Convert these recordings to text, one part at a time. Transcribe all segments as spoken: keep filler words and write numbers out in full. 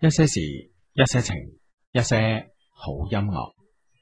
一些事，一些情，一些好音樂。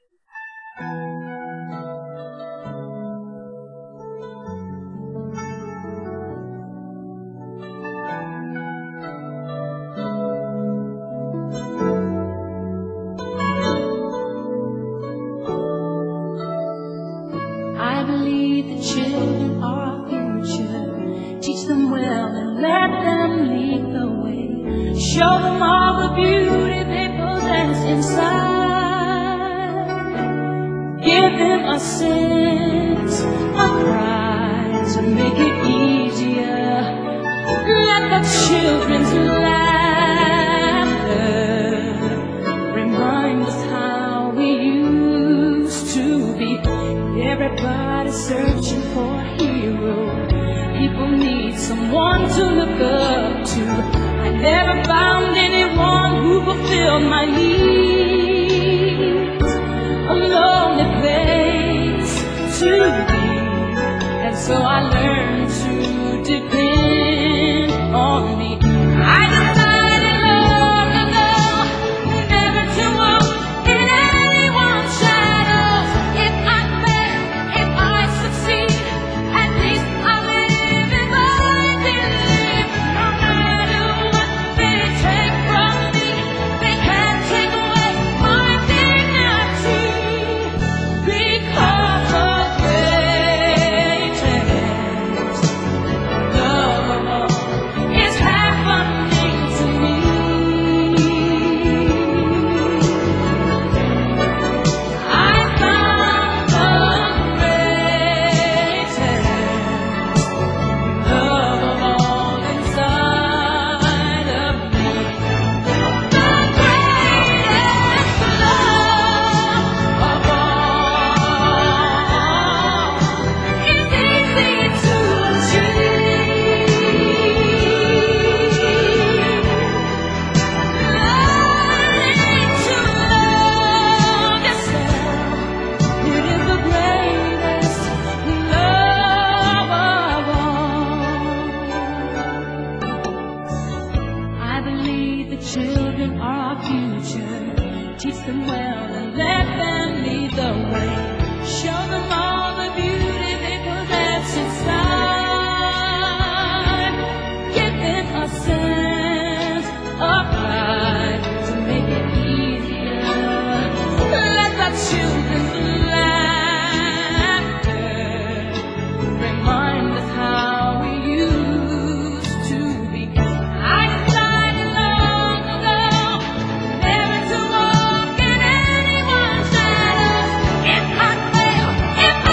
I believe the children are our future. Teach them well and let them lead the way. Show them all the beauty they possess inside. Give them a sense of pride to make it easier. Let the children's laughter remind us how we used to be. Everybody's searching for a hero. People need someone to look up to. I never found anyone who fulfilled my needs. A lonely place to be, and so I learned to depend on me. I decided long ago never to walk in anyone's shadows. If I fail, if I succeed, at least I live as I believe. No matter what they take from me, they can't take away my dignity. Because of greatness, love is happening to me. I found the greatest love of all inside of me. The greatest love of all is easy to achieve. Learning to love yourself, it is the greatest love of all. I believe the children are our future. Teach them well and let them lead the way. Show them all the beauty they possess inside. Give them a sense of pride to make it easier. Let the children's laughter remind us how we used to be. I decided long ago never to walk in anyone's shadows. If I fail, if I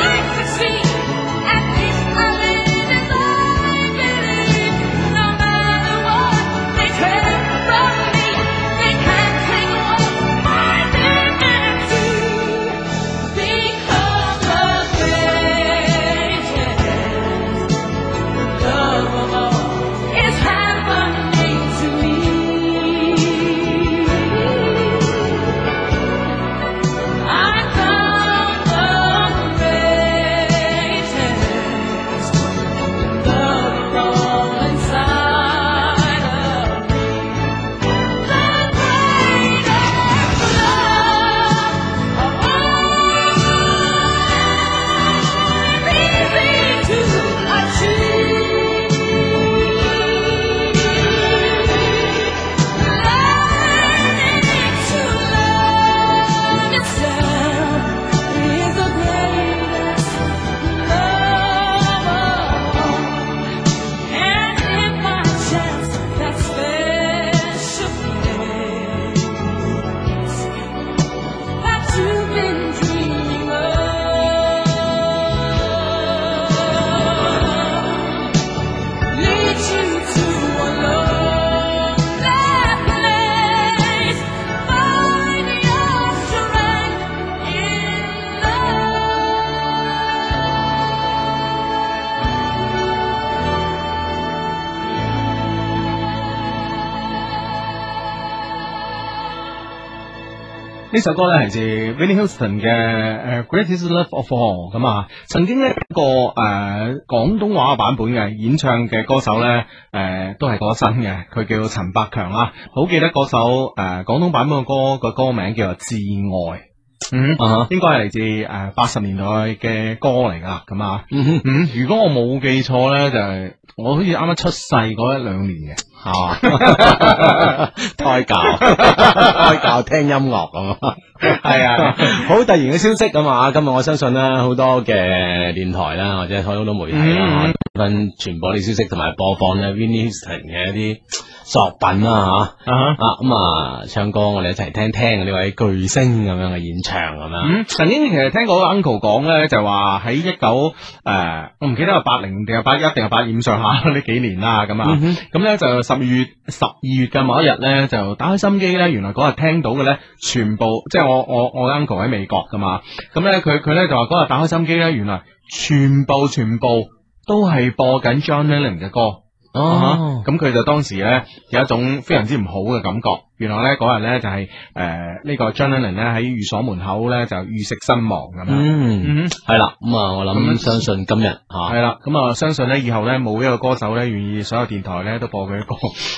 呢首歌咧係自 Whitney Houston 嘅誒 Greatest Love of All 咁啊，曾經咧一個誒廣東話版本嘅演唱嘅歌手咧誒、呃、都係過身嘅，佢叫陳百強啦，好記得嗰首誒廣東版本嘅歌個歌名叫做《至愛》。嗯，啊、uh，huh. 應該係嚟自誒八十年代嘅歌嚟噶，咁啊，嗯哼，嗯，如果我冇記錯咧，就係、是、我好似啱啱出世嗰一兩年嘅，係嘛， 胎教，胎教聽音樂咁啊，係啊，好突然嘅消息咁啊，今日我相信咧好多嘅電台啦，或者好多媒體啦，分傳播啲消息同埋播放咧 Whitney Houston 嘅一啲作品啦吓，啊咁啊唱歌我哋一齊聽聽呢位巨星咁樣嘅演唱咁樣。 嗯，曾經其實聽過 uncle 講咧，就話喺一九誒，我唔記得係八零定係八一定係八二咁上下呢幾年啦，咁啊，咁咧就十二月十二月嘅某一日咧，就打開心機咧，原來嗰日聽到嘅咧，全部即係我我我 uncle 喺美國噶嘛，咁咧佢佢咧就話嗰日打開心機咧，原來全部全部都係播緊 John Lennon 嘅歌。哦，咁佢、uh huh. 就當時咧有一種非常之唔好嘅感覺。原來咧嗰日咧就係誒呢個 John Lennon 咧喺寓所門口咧就遇刺身亡咁樣。嗯，係啦、 嗯，咁啊我諗相信今日吓係啦，咁啊相信咧以後咧冇一個歌手咧願意所有電台咧都播佢嘅歌。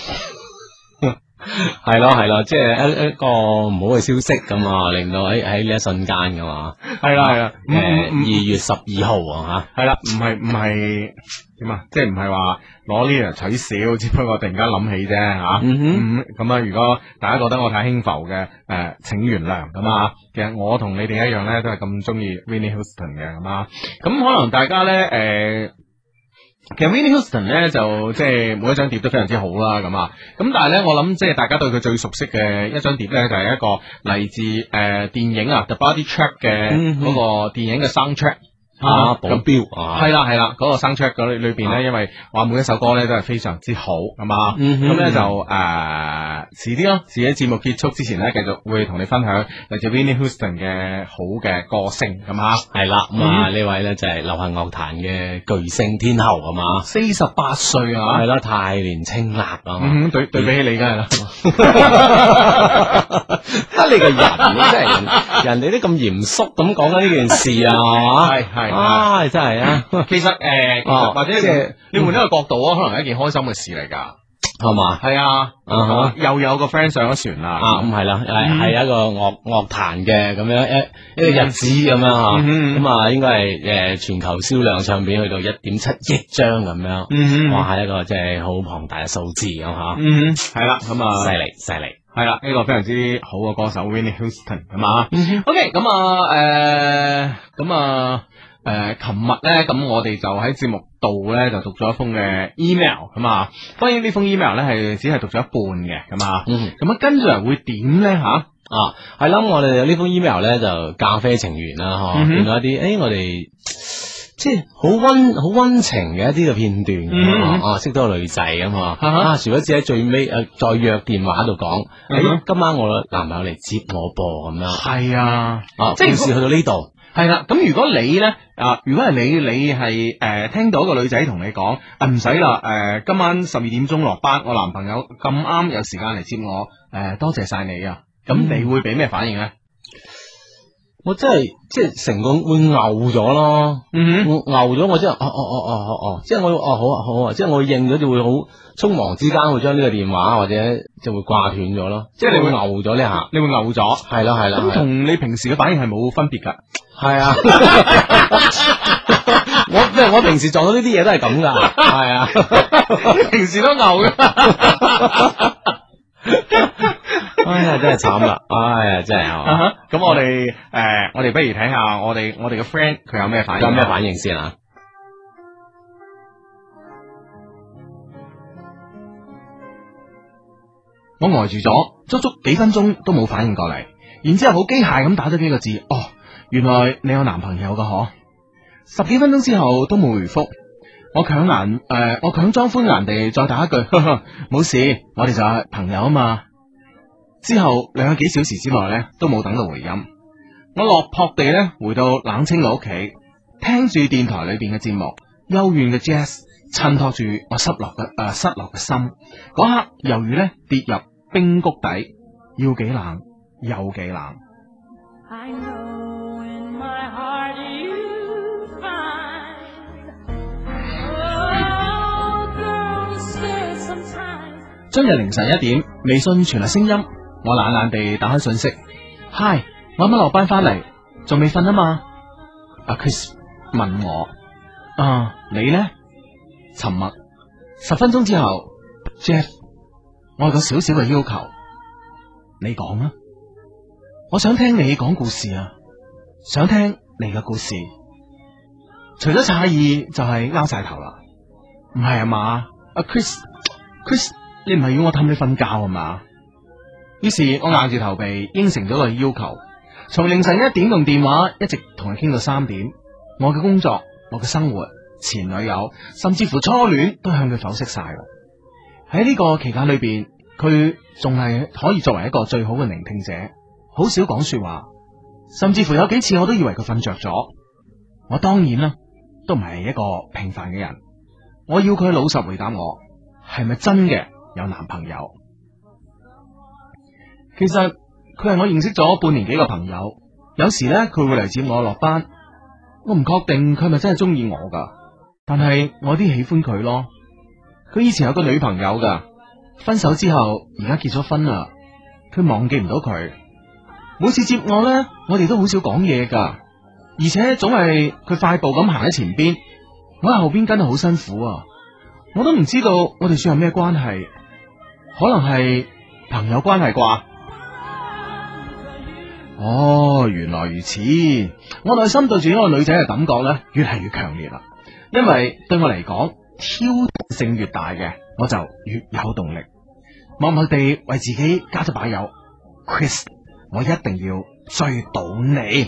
係咯係咯，即係一一個唔好嘅消息咁啊，令到喺喺呢一瞬間噶嘛。係啦係啦，誒二月十二號啊吓， 係啦，唔係唔係點啊？即係唔係話攞呢樣取笑，只不過突然間諗起啫吓。嗯哼，咁啊，如果大家覺得我太輕浮嘅，誒，請原諒咁啊。其實我同你哋一樣咧，都係咁中意 Whitney Houston 嘅咁啊。咁可能大家咧，誒。其實 Whitney Houston 咧就即係每一張碟都非常之好啦，咁啊，咁但係咧我諗即係大家對佢最熟悉嘅一張碟咧就係、是、一個嚟自誒、呃、電影啊 The Body Track 嘅嗰個電影嘅 soundtrack。 啊，保鏢啊， 係啦係啦，嗰個 soundtrack 嗰裏邊咧，因為話每一首歌咧都係非常之好，係嘛，咁咧就誒遲啲咯，遲啲節目結束之前咧，繼續會同你分享嚟自 Whitney Houston 嘅好嘅歌聲，咁啊， 係啦，咁啊呢位咧就係流行樂壇嘅巨星天后，係嘛， 四十八歲啊， 係啦，太年青啦，啊， 對對比起你梗係啦， 得你個人，真係人哋都咁嚴肅咁講緊呢件事啊， 係係。 啊，真係啊！ 其實誒，其實或者即係你換一個角度啊，可能係一件開心嘅事嚟噶，係嘛？係啊，又有個 friend 上咗船啦， 啊，咁係啦，係係一個樂樂壇嘅咁樣一一個日子咁樣吓，咁啊，應該係誒全球銷量唱片去到一點七億張咁樣，哇，係一個即係好龐大嘅數字咁吓，嗯，係啦，咁啊，犀利犀利。 係啦，呢個非常之好嘅歌手 Whitney Houston 係嘛？OK，咁啊，誒，咁啊，誒，琴日咧，咁我哋就喺節目度咧就讀咗一封嘅 email 咁啊。當然呢封 email 咧係只係讀咗一半嘅，咁啊，咁啊跟住嚟會點咧吓？ 啊，係啦，我哋呢封 email 咧就咖啡情緣啦，嗬，見到一啲，誒，我哋。即係好溫好溫情嘅一啲嘅片段，嗯、啊，識到個女仔咁啊，啊，殊不知喺最尾誒再約電話度講，誒、嗯欸，今晚我男朋友嚟接我噃咁樣， 係啊， 啊，即係故事去到呢度， 係啦，咁如果你咧啊，如果係你，你係誒、呃、聽到一個女仔同你講，啊唔使啦，誒、呃、今晚十二點鐘落班，我男朋友咁啱有時間嚟接我，誒、呃、多謝晒你啊，咁你會俾咩反應咧？ 我真係即係成個會牛咗咯，嗯哼，牛咗我真係哦哦哦哦哦哦，即係我哦好啊好啊，即係我應咗就會好匆忙之間會將呢個電話或者就會掛斷咗咯，即係你會牛咗呢下，你會牛咗，係啦係啦，咁同你平時嘅反應係冇分別噶，係啊，我即係我平時撞到呢啲嘢都係咁噶，係啊，平時都牛嘅。哎呀，真係慘啦！哎呀，真係啊！咁我哋誒，我哋不如睇下我哋我哋嘅 friend 佢有咩反應，有咩反應先啊！我呆住咗，足足幾分鐘都冇反應過嚟，然之後好機械咁打咗幾個字，哦，原來你有男朋友噶嗬！十幾分鐘之後都冇回覆，我強顏誒，我強裝歡顏地再打一句，冇事，我哋就係朋友啊嘛。之後兩個幾小時之內咧，都冇等到回音。我落魄地咧回到冷清嘅屋企，聽住電台裏邊嘅節目，幽怨嘅 jazz 襯托住我失落嘅誒、呃、失落嘅心。嗰刻猶如咧跌入冰谷底，要幾冷有幾冷。 I know in my heart you find. Oh, girls say sometimes. 今日凌晨一點，微信傳嚟聲音，我懶懶地打開信息。嗨，我啱啱落班翻嚟，仲未瞓啊嘛？阿 Chris 問我，啊，你呢？沉默。十分鐘之後 ，Jeff， 我有個小小嘅要求，你講啊。我想聽你講故事啊，想聽你嘅故事。除咗詫異，就係拗晒頭啦。唔係啊嘛，阿 Chris，Chris， 你唔係要我氹你瞓覺啊嘛？於是我硬住頭皮應承咗佢要求，從凌晨一點用電話一直同佢傾到三點。我嘅工作、我嘅生活、前女友，甚至乎初戀，都向佢剖析晒。喺呢個期間裏邊，佢仲係可以作為一個最好嘅聆聽者。好少講說話，甚至乎有幾次我都以為佢瞓着咗。我當然啦，都唔係一個平凡嘅人。我要佢老實回答我，係咪真嘅有男朋友？其實佢係我認識咗半年幾個朋友，有時呢，佢會嚟接我落班。我唔確定佢係咪真係中意我噶，但係我有啲喜歡佢咯。佢以前有個女朋友噶，分手之後而家結咗婚啦。佢忘記唔到佢。每次接我呢，我哋都好少講嘢噶，而且總係佢快步咁行喺前邊，我喺後邊跟得好辛苦啊！我都唔知道我哋算係咩關係，可能係朋友關係啩？哦，原來如此，我內心對住呢個女仔嘅感覺呢，越係越強烈啦，因為對我嚟講，挑逗性越大嘅，我就越有動力，默默地為自己加咗把油。Chris，我一定要追到你。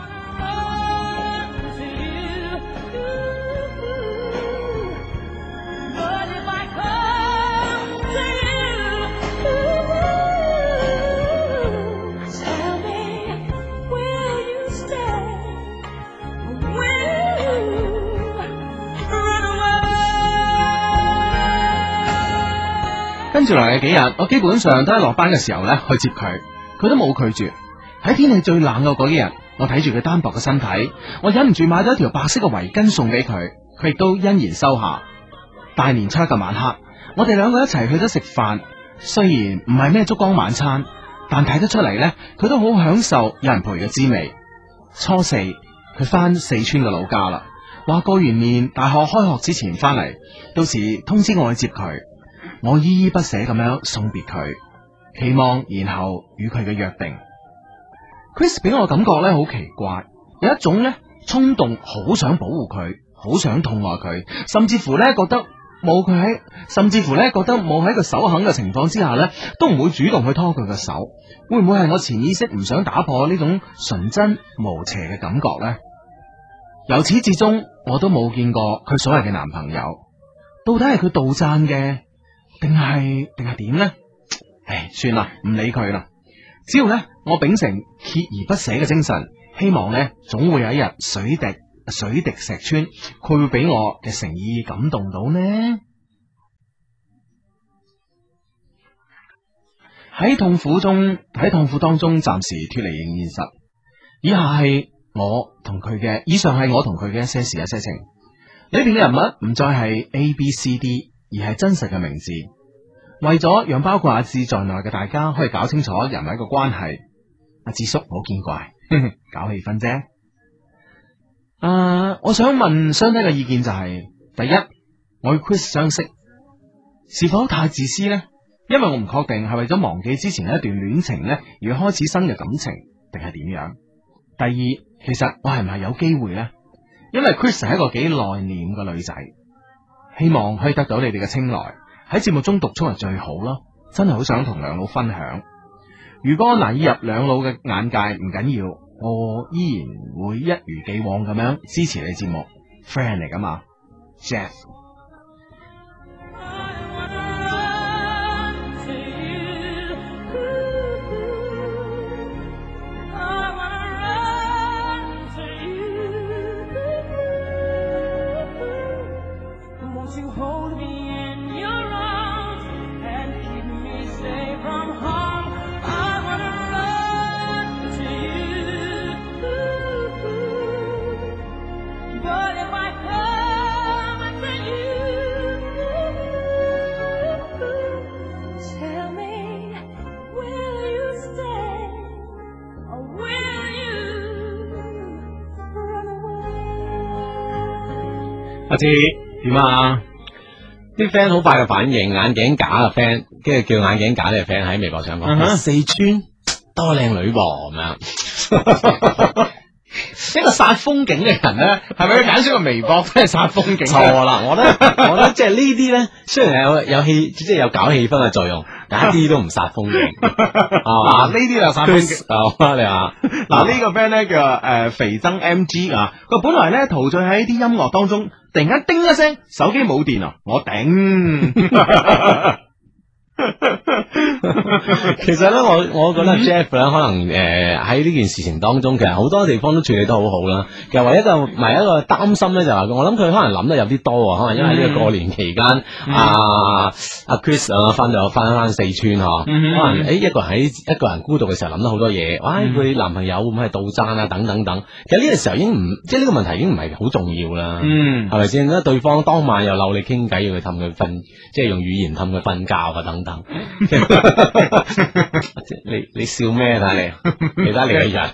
跟住嚟嘅幾日，我基本上都喺落班嘅時候咧去接佢，佢都冇拒絕。喺天氣最冷嘅嗰幾日，我睇住佢單薄嘅身體，我忍唔住買咗一條白色嘅圍巾送俾佢，佢亦都欣然收下。大年初一嘅晚黑，我哋兩個一齊去咗食飯，雖然唔係咩燭光晚餐，但睇得出嚟呢，佢都好享受有人陪嘅滋味。初四，佢翻四川嘅老家啦，話過完年大學開學之前翻嚟，到時通知我去接佢。我依依不捨咁樣送別佢，期望然後與佢嘅約定。Chris 俾我感覺咧好奇怪，有一種咧衝動，好想保護佢，好想痛愛佢，甚至乎咧覺得冇佢喺，甚至乎咧覺得冇喺佢手肯嘅情況之下咧，都唔會主動去拖佢嘅手。會唔會係我潛意識唔想打破呢種純真無邪嘅感覺呢？由始至終我都冇見過佢所謂嘅男朋友，到底係佢杜撰嘅？定係定係點呢？唉，算啦，唔理佢啦。只要呢，我秉承鍥而不捨嘅精神，希望呢，總會有一日水滴水滴石穿，佢會俾我嘅誠意感動到呢。喺痛苦中，喺痛苦當中，暫時脫離現實。以下係我同佢嘅，以上係我同佢嘅一些事一些情。裏邊嘅人物唔再係 A B C D。而係真實嘅名字，為咗讓包括阿志在內嘅大家可以搞清楚人物嘅關係，阿志叔唔好見怪，搞氣氛啫。啊，我想問相低嘅意見就係、是，第一，我與 Chris 相識是否太自私呢？因為我唔確定係為咗忘記之前一段戀情呢，而開始新嘅感情，定係點樣？第二，其實我係唔係有機會呢？因為 Chris 係一個幾內斂嘅女仔。希望可以得到你哋嘅青睞，喺節目中讀出係最好咯，真係好想同兩老分享。如果難以入兩老嘅眼界唔緊要，我依然會一如既往咁樣支持你節目 ，friend 嚟噶嘛 ，Jeff。 阿志點啊？ 啲 friend 好快嘅反應，眼鏡架嘅 friend，跟住叫眼鏡架呢個 friend 喺微博上講， 嗯哼四川多靚女噃咁樣。 一個殺風景嘅人咧，係咪要揀出個微博都係殺風景？ 錯啦，我覺得我覺得即係呢啲咧，雖然有有氣，即係有搞氣氛嘅作用，但一啲都唔殺風景。 嗱，呢啲就殺風景。 啊，你話嗱呢個 friend 咧叫誒肥增 M G 啊，佢本來咧陶醉喺啲音樂當中，突然間叮一聲，手機冇電啊，我頂。 其實咧，我我覺得 Jeff 咧，可能誒喺呢件事情當中，其實好多地方都處理得好好啦。其實唯一一個唔係一個擔心咧，就係我諗佢可能諗得有啲多啊，可能因為呢個過年期間，阿阿 Chris 啊翻咗翻翻四川嗬，可能誒一個人喺一個人孤獨嘅時候諗得好多嘢，哇！佢男朋友會唔會係杜撰啊？等等等。其實呢個時候已經唔即係呢個問題已經唔係好重要啦， 嗯， 係咪先？咧對方當晚又鬧你傾偈，要佢氹佢瞓，即係用語言氹佢瞓覺啊等等。你你笑咩？睇你，你睇你個人，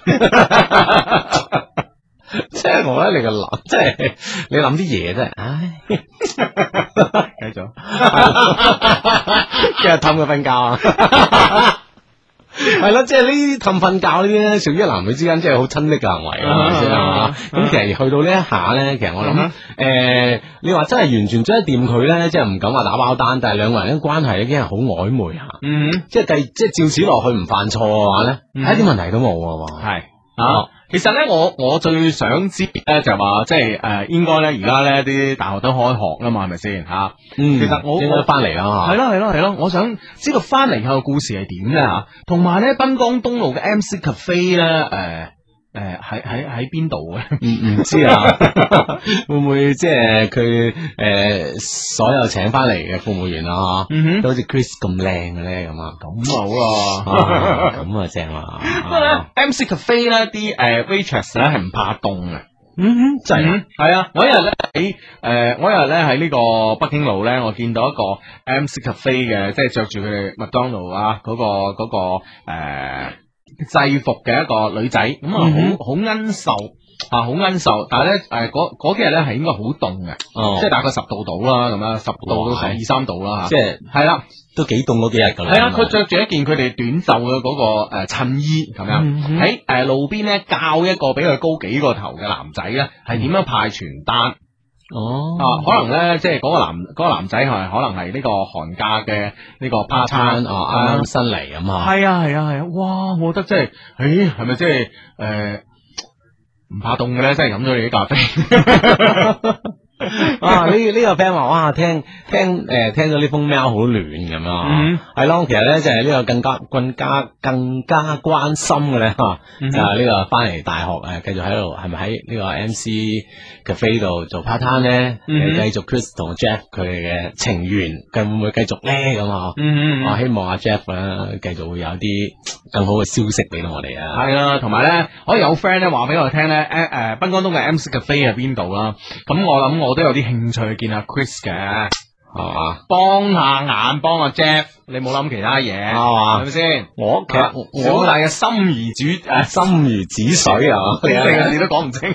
即係我覺得你個諗，即係你諗啲嘢真係，唉， 繼續， 今日氹佢瞓覺啊！係咯，即係呢啲氹瞓覺呢啲咧，屬於男女之間即係好親昵嘅行為啊，係咪先啊？咁其實去到呢一下咧，其實我諗，誒，你話真係完全追得掂佢咧，即係唔敢話打包單，但係兩個人嘅關係已經係好曖昧下， 嗯， 即係第即係照此落去唔犯錯嘅話咧，一啲問題都冇啊， 係啊。其實咧，我我最想知咧就係話，即係誒，應該咧而家咧啲大學都開學啦嘛，係咪先吓？ 嗯， 其實我應該翻嚟啦， 係咯係咯係咯，我想知道翻嚟後嘅故事係點咧吓，同埋咧濱江東路嘅 M C Cafe 咧，誒誒喺喺喺邊度嘅？ 唔唔知啊，會唔會即係佢誒所有請翻嚟嘅服務員啊， 嗯都好似 Chris 咁靚嘅咧咁啊？ 咁啊好啊， 咁啊正啊！ 不過咧 M C Cafe 咧啲誒 waitress 咧係唔怕凍嘅。 嗯哼，真係係啊！我一日咧喺誒，我一日咧喺呢個北京路咧，我見到一個 M C Cafe 嘅，即係着住佢哋麥當勞啊嗰個嗰個誒制服嘅一個女仔，咁啊好好奀瘦啊，好奀瘦，但係咧誒嗰嗰幾日咧係應該好凍嘅，即係大概十度到啦，咁樣十度到十二三度啦， 即係係啦， 都幾凍嗰幾日噶啦。 係啊，佢着住一件佢哋短袖嘅嗰個誒襯衣咁樣，喺誒路邊咧教一個比佢高幾個頭嘅男仔咧，係點樣派傳單。 哦， 啊，可能咧，即係嗰個男嗰、嗰個男仔係可能係呢個寒假嘅呢個 part time 啊，啱啱新嚟咁啊， 係啊係啊係啊，哇！我覺得即係，誒，係咪即係誒唔怕凍嘅咧？即係飲咗你啲咖啡。 啊！呢呢個 friend 話哇，聽聽誒聽到呢封 mail 好暖咁樣，係咯。其實咧就係呢個更加更加更加關心嘅咧吓，就係呢個翻嚟大學誒，繼續喺度係咪喺呢個 M C Cafe 度做 part time 咧？繼續 Chris 同 Jeff 佢哋嘅情緣，佢會唔會繼續咧？咁啊，我希望阿 Jeff 咧繼續會有啲更好嘅消息俾到我哋啊。 係啊，同埋咧可以有 friend 咧話俾我聽咧，誒誒，濱江東嘅 M C Cafe 喺邊度啦？咁我諗我。我都有啲興趣見阿 Chris 嘅，係嘛？幫下眼，幫阿 Jeff，你冇諗其他嘢，係嘛？係咪先？ 我其實我大嘅心如煮誒， 心如止水啊！ 你成個字都講唔清，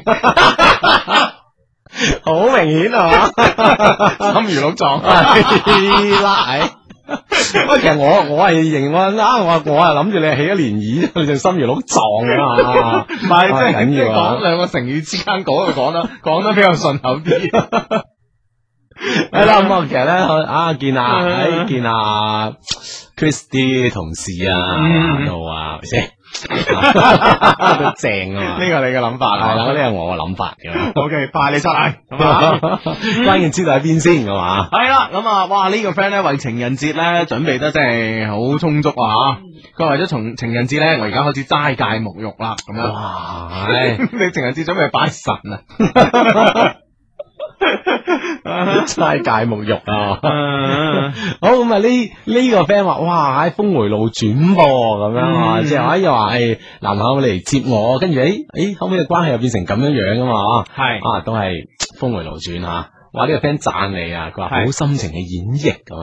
好明顯係嘛？ 心如鹿撞， 係啦，係。喂，其實我我係認我啊，我我係諗住你係起咗漣漪，你就心如鹿撞啊！ 唔係，即係緊要講兩個成語之間講就講得講得比較順口啲。 係啦，咁啊，其實咧啊，見啊，喺見啊 Chris 啲同事啊，度啊，係咪先？都正啊嘛！ 呢個你嘅諗法係啦，呢個我嘅諗法嘅。 O K，派你出嚟，咁啊， 關鍵知道喺邊先，係嘛？ 係啦，咁啊，哇！呢個 friend 咧為情人節咧準備得真係好充足啊！佢為咗從情人節咧，我而家開始齋戒沐浴啦，咁樣。 哇！ 你情人節準備拜神啊？ 齋戒沐浴啊！好咁啊！呢呢個 friend 話：哇，喺峰回路轉噃，咁樣啊，即係話又話誒男朋友嚟接我，跟住誒誒後尾嘅關係又變成咁樣樣噶嘛？係啊，都係峰回路轉吓。哇！呢個 friend 讚你啊，佢話好心情嘅演繹咁啊！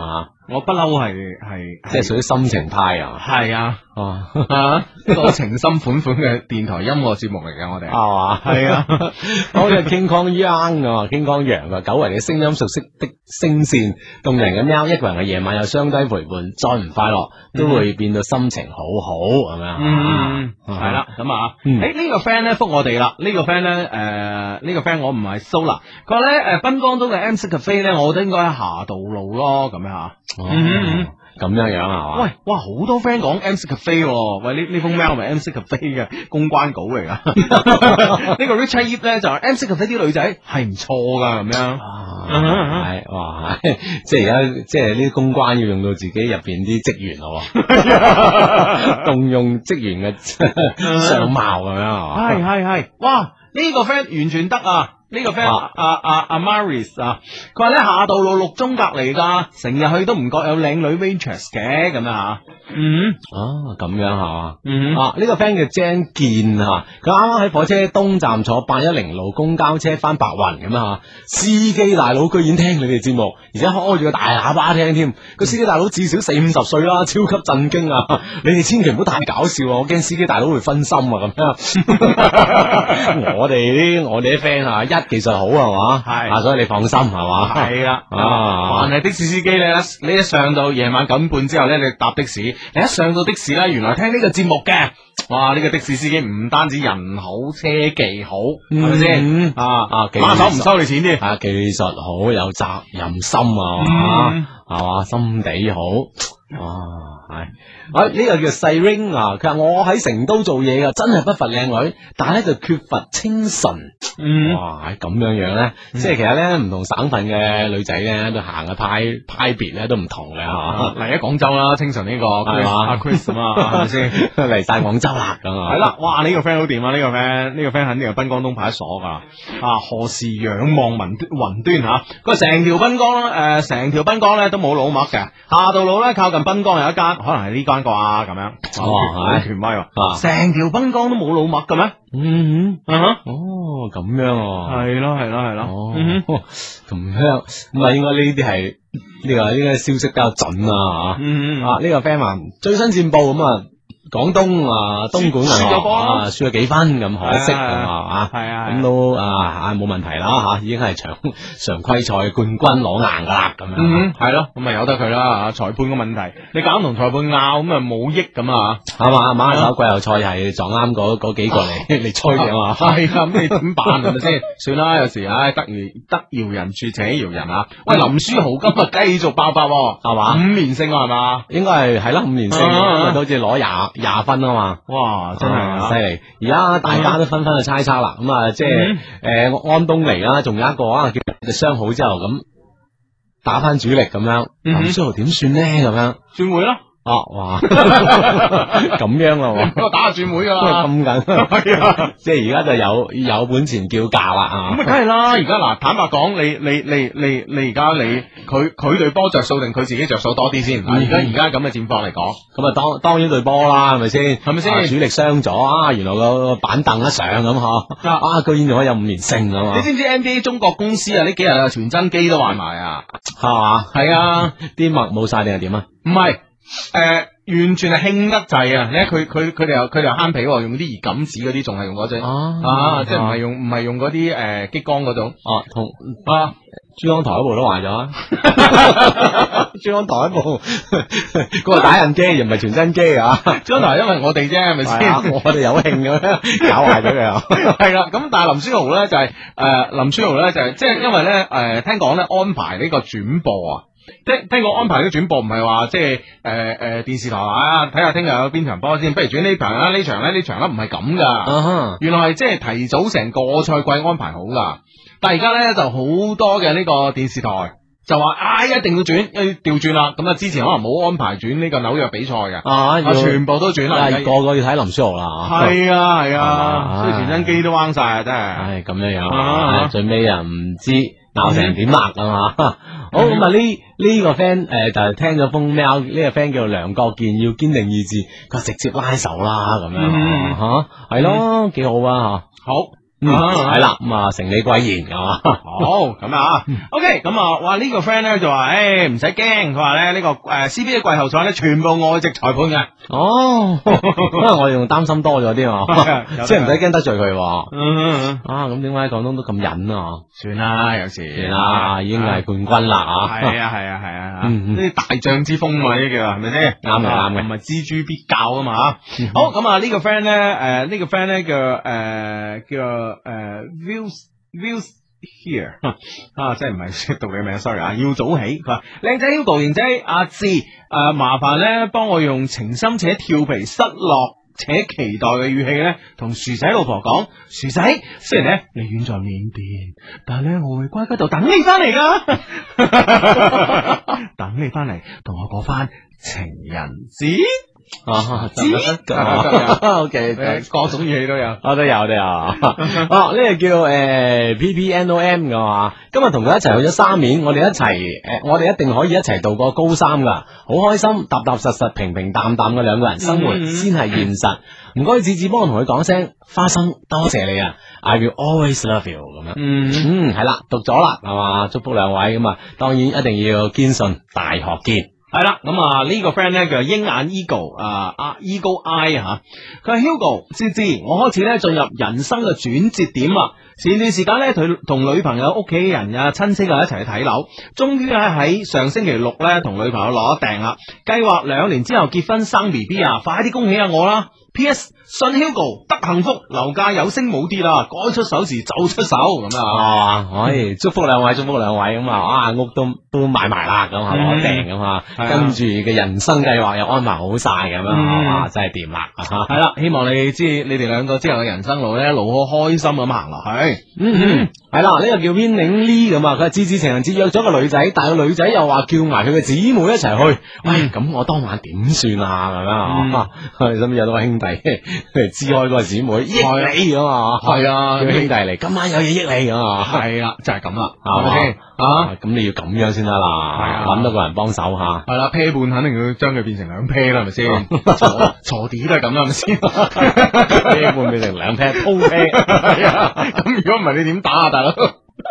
我不嬲係係即係屬於心情派啊， 係啊。 哦， 啊，一個情深款款嘅電台音樂節目嚟嘅，我哋係嘛， 係啊， 好似 King Kong Young 啊，King Kong 楊啊，久違嘅聲音，熟悉的聲線，動人嘅喵，一個人嘅夜晚有雙低陪伴，再唔快樂都會變到心情好好，係咪啊？ 嗯，係啦，咁啊，誒呢個 friend 咧覆我哋啦，呢個 friend 咧誒呢個 friend 我唔係 Sola，佢話咧誒濱江東嘅 M C Cafe 咧，我覺得應該喺霞道路咯，咁樣吓，嗯。 咁樣樣係嘛？ 喂，哇，好多 friend 講 M C Cafe，喂，呢呢封 mail 係咪 M C Cafe 嘅公關稿嚟噶？呢個 Richard Yip 咧就係 M C Cafe 啲女仔係唔錯噶，咁樣， 係哇，即係而家即係呢啲公關要用到自己入邊啲職員咯，動用職員嘅相貌咁樣係嘛？ 係係係，哇，呢個 friend 完全得啊！呢個 friend 阿阿阿 Maris 啊，佢話咧下道路六中隔離噶，成日去都唔覺有靚女 waitress 嘅咁樣吓。嗯， 哦咁樣係嘛。 嗯啊呢個 friend 叫 Jan 健吓，佢啱啱喺火車東站坐八一零路公交車翻白雲咁樣吓，司機大佬居然聽你哋節目，而且開住個大喇叭聽添。個司機大佬至少四五十歲啦，超級震驚啊！你哋千祈唔好太搞笑啊，我驚司機大佬會分心啊咁樣。我哋啲我哋啲 friend 啊一。技術好係嘛，係啊，所以你放心係嘛， 係啦， 啊， 凡係的士司機咧，你一上到夜晚九點半之後咧，你搭的士，你一上到的士咧，原來聽呢個節目嘅，哇！呢個的士司機唔單止人好，車技好，係咪先？啊啊，馬手唔收你錢添， 啊，技術好，有責任心啊，係嘛，心地好，哇，係。啊！呢、這個叫細 ring 啊，佢話我喺成都做嘢噶，真係不乏靚女，但係咧就缺乏清純。 嗯， 哇！咁樣樣咧，嗯、即係其實咧唔同省份嘅女仔咧，都行嘅派派別咧都唔同嘅吓。 嚟喺廣州啦，清純呢、這個係嘛阿 Chris 啊，係咪先嚟晒廣州啦咁啊？ 係啦，哇！呢、這個 friend 好掂啊！呢、這個 friend 呢個 friend 肯定係濱江東派出所噶。啊，何時仰望雲雲端吓？佢話成條濱江咧，誒，成條濱江咧都冇老麥嘅，下道路咧靠近濱江有一間，可能係呢間。啩咁樣，哇！係權威喎，成條濱江都冇老麥嘅咩？ 嗯嗯，啊哦，咁樣， 係咯係咯係咯， 哦，咁樣，咁啊，應該呢啲係呢個呢個消息比較準啊， 嗯啊，呢個 friend 話最新戰報咁啊。廣東啊，東莞輸咗波啊，輸咗幾分咁可惜咁啊， 係啊， 咁都啊冇問題啦吓，已經係常常規賽冠軍攞硬噶啦咁樣， 嗯，係咯，咁咪由得佢啦，裁判嘅問題，你搞同裁判拗咁啊冇益咁啊， 係嘛，馬手季後賽係撞啱嗰嗰幾個嚟嚟吹嘅嘛， 係啊，咁你點辦係咪先？算啦，有時唉得饒得饒人處且饒人啊，喂，林書豪今日繼續爆發係嘛，五連勝係嘛， 應該係係啦，五連勝，好似攞廿。廿分啊嘛， 哇，真係犀利！而家大家都紛紛去猜測啦，咁啊，即係誒安東尼啦，仲有一個啊，叫傷好之後咁打翻主力咁樣，林書豪點算呢？咁樣轉會咯。 哦，哇，咁樣咯， 我打下轉會噶啦， 咁緊，係啊，即係而家就有有本錢叫價啦啊！ 咁啊，梗係啦，而家嗱，坦白講，你你你你你而家你佢佢對波着數定佢自己着數多啲先？而家而家咁嘅戰況嚟講， 咁啊當當然對波啦，係咪先？ 係咪先？ 主力傷咗啊，原來個板凳一上咁嗬，啊，居然仲可以有五連勝啊嘛！ 你知唔知 N B A 中國公司啊？呢幾日啊傳真機都壞埋啊， 係嘛？ 係啊， 啲墨冇晒定係點啊？ 唔係。誒、呃，完全係興得滯啊！你睇佢佢佢哋又佢哋又慳皮，用啲熱感紙嗰啲，仲係用嗰隻啊，啊即係唔係用唔係用嗰啲誒激光嗰種哦，同啊珠江台嗰部都壞咗，珠江台嗰部嗰個打印機又唔係傳真機啊！ 珠江台因為我哋啫，係咪先？ 我哋有興咁搞壞咗佢啊！ 係啦，咁但係林書豪咧就係、是、誒、呃、林書豪咧就係即係因為咧誒、呃、聽講咧安排呢個轉播啊。聽聽講安排啲轉播唔係話即係誒誒電視台啊睇下聽日有邊場波先，不如轉呢場啦呢場咧呢場啦唔係咁噶，uh huh. 原來係即係提早成個賽季安排好噶，但係而家咧就好多嘅呢個電視台就話啊一定要轉，要調轉啦，咁啊之前可能冇安排轉呢個紐約比賽嘅，啊、uh huh. 全部都轉啦， 個個要睇林書豪啦， 係啊係啊，所以傳真機都彎晒啊真係， 唉咁樣樣，uh huh. 最尾又唔知鬧成點辣啊嘛。好咁啊！呢呢個 friend 誒就係聽咗封 mail，呢個 friend 叫梁國健，要堅定意志，佢直接拉手啦咁樣吓，係咯，幾好啊吓。 好嗯，係啦，咁啊，成理貴言係嘛？ 好咁啊，OK，咁啊，哇呢個 friend 咧就話，誒唔使驚，佢話咧呢個誒 C B A 季後賽咧全部外籍裁判嘅。 哦，可能我哋仲擔心多咗啲啊，即係唔使驚得罪佢。 嗯啊，咁點解廣東都咁忍啊？ 算啦，有時算啦，已經係冠軍啦啊！ 係啊係啊係啊， 嗯呢啲大將之風嘛，呢叫係咪先？ 啱嘅啱嘅， 唔係錙銖必較啊嘛。好咁啊，呢個 friend 咧，誒呢個 friend 咧叫誒叫誒 views views here 啊，即係唔係讀你名 ，sorry 啊，要早起。佢話靚仔 Hugo 賢仔阿志誒，麻煩咧幫我用情深且調皮失落且期待嘅語氣咧，同薯仔老婆講，薯仔，雖然咧你遠在緬甸，但係咧我會乖乖度等你翻嚟噶，等你翻嚟同我過翻情人節。 啊，得 OK， 各種語氣都有， 我都有都有。哦，呢個叫誒 P P N O M 噶嘛，今日同佢一齊去咗沙面，我哋一齊誒，我哋一定可以一齊度過高三噶，好開心，踏踏實實、平平淡淡嘅兩個人生活先係現實。唔該，子子幫我同佢講聲花生，多謝你啊 ！I will always love you 咁樣。嗯嗯，係啦，讀咗啦，係嘛？祝福兩位咁啊，當然一定要堅信大學見。 係啦，咁啊呢個 friend 咧叫鷹眼 Eagle 啊啊 Eagle Eye 吓，佢係 Hugo 芝芝，我開始咧進入人生嘅轉折點啦。前段時間咧，佢同女朋友、屋企人啊、親戚啊一齊去睇樓，終於咧喺上星期六咧同女朋友攞訂啦，計劃兩年之後結婚生 B B 啊，快啲恭喜下我啦！ P S 信 Hugo 得幸福，樓價有升冇跌啦，該出手時就出手咁啊！ 可以祝福兩位，祝福兩位咁啊！啊屋都都買埋啦，咁係攞訂咁啊，跟住嘅人生計劃又安排好晒咁樣，啊真係掂啦！ 係啦，希望你知你哋兩個之後嘅人生路咧，一路好開心咁行落去。 嗯嗯，係啦，呢個叫 Winning Lee 咁啊，佢係芝芝情人節約咗個女仔，但係個女仔又話叫埋佢嘅姊妹一齊去，喂，咁我當晚點算啊？咁樣啊，我哋身邊有多個兄弟嚟支開個姊妹益你咁啊，係啊，叫兄弟嚟，今晚有嘢益你咁啊， 係啦，就係咁啦， 係咪先啊？ 咁你要咁樣先得啦，揾到個人幫手吓， 係啦，啤半肯定要將佢變成兩啤啦，係咪先？鋤鋤地都係咁啦，係咪先？ 啤半變成兩啤，鋪啤， 係啊，咁如果唔係你點打啊，大佬？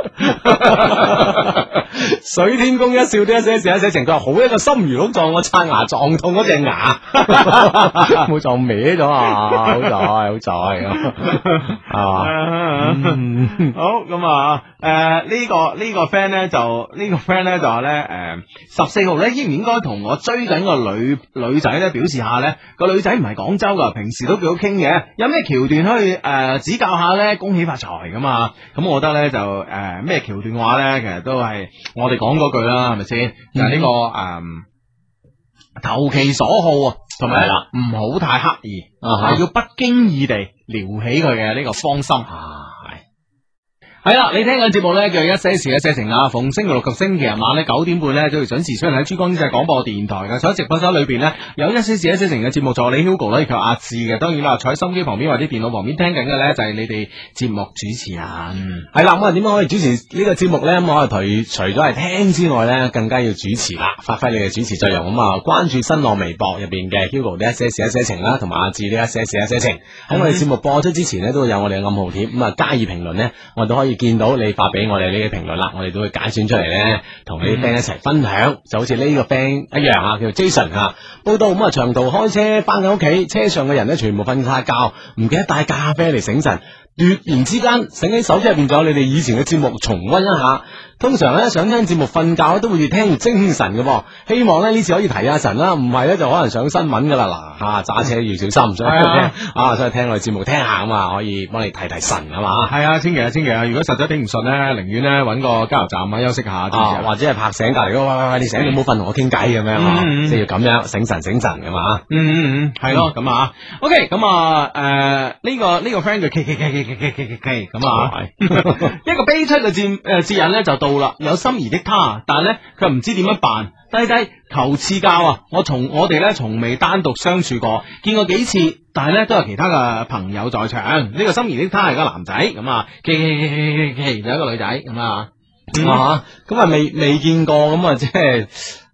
水天宮一笑啲一些事一些情，佢話好一個心如鹿撞我刷牙撞痛嗰隻牙，冇撞歪咗啊！好在好在咁啊！ 好咁啊，誒呢個呢個 friend 咧就呢個 friend 咧就話咧誒十四號咧應唔應該同我追緊個女女仔咧表示下咧，個女仔唔係廣州噶，平時都幾好傾嘅，有咩橋段可以誒指教下咧？恭喜發財噶嘛！咁我覺得咧就誒咩橋段話咧，其實都係我哋講嗰句啦，係咪先？就係呢個誒投其所好啊，同埋唔好太刻意，係要不經意地撩起佢嘅呢個芳心。係啦，你聽緊節目咧叫一些事一些情啊，逢星期六及星期日晚咧九點半咧都要準時出現喺珠江經濟廣播電台嘅。坐喺直播室裏邊咧有一些事一些情嘅節目助理 Hugo 咧，以及阿志嘅。當然啦，坐喺心機旁邊或者電腦旁邊聽緊嘅咧就係你哋節目主持人。 係啦，咁啊點樣可以主持呢個節目咧？咁我哋除咗係聽之外咧，更加要主持啦，發揮你嘅主持作用。咁啊，關注新浪微博入邊嘅 Hugo 的一些事一些情啦，同埋阿志的一些事一些情。喺我哋節目播出之前呢，都會有我哋嘅暗號貼，咁啊加以評論呢，我哋都可以見到你發俾我哋呢啲評論啦，我哋都會揀選出嚟咧，同你啲 friend 一齊分享，就好似呢個 friend 一樣啊，叫做 Jason 啊，報道咁啊，長途開車翻緊屋企，車上嘅人咧全部瞓晒覺，唔記得帶咖啡嚟醒神，突然之間醒起手機入邊仲有你哋以前嘅節目重溫一下。通常咧想聽節目瞓覺都會越聽越精神嘅噃，希望咧呢次可以提下神啦，唔係咧就可能上新聞噶啦。嗱吓揸車要小心，所以聽啊，所以聽我哋節目聽下啊嘛，可以幫你提提神啊嘛。 係啊，千祈啊，千祈啊，如果實在頂唔順咧，寧願咧揾個加油站啊休息下， 啊或者係拍醒隔籬嗰個，喂喂喂，你醒你唔好瞓同我傾偈咁樣啊，即係要咁樣醒神醒神噶嘛。 嗯嗯嗯，係咯咁啊。OK，咁啊誒呢個呢個 friend 叫 K K K K K K K K 咁啊，一個悲催嘅節誒節日咧就到啦，有心儀的他，但係咧佢唔知點樣辦。低低求賜教啊！我從我哋咧從未單獨相處過，見過幾次，但係咧都有其他嘅朋友在場。呢、這個心儀的他係個男仔咁啊，K K K K K 就一個女仔咁啊， 啊咁啊未未見過咁啊，即係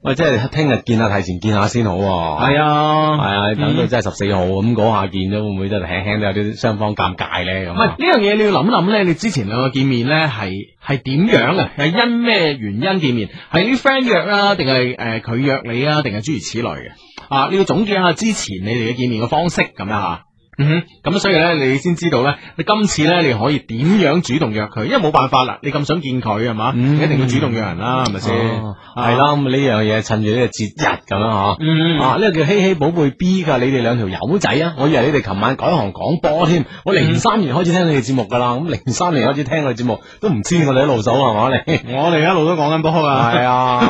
喂，即係聽日見下，提前見下先好喎。 係啊， 係啊，你等到真係十四號咁嗰下見咗，會唔會真係輕輕都有啲雙方尷尬咧？咁唔係呢樣嘢，你要諗諗咧。你之前兩個見面咧，係係點樣嘅？係因咩原因見面？係啲 friend 約啊，定係誒佢約你啊，定係諸如此類嘅？啊，你要總結下之前你哋嘅見面嘅方式咁樣吓。嗯哼，咁所以咧，你先知道咧，你今次咧，你可以點樣主動約佢？因為冇辦法啦，你咁想見佢係嘛， 嗯、 你一定要主動約人啦，係咪先？ 係啦，咁呢樣嘢趁住呢個節日咁樣嗬。 嗯啊，呢、這個叫希希寶貝 B 噶，你哋兩條友仔啊！我以為你哋琴晚改行廣播添，我零三年開始聽你哋節目噶啦，咁零三年開始聽我哋節目，都唔知我哋一路數係嘛你？ 我哋一路都講緊波啊， 係啊。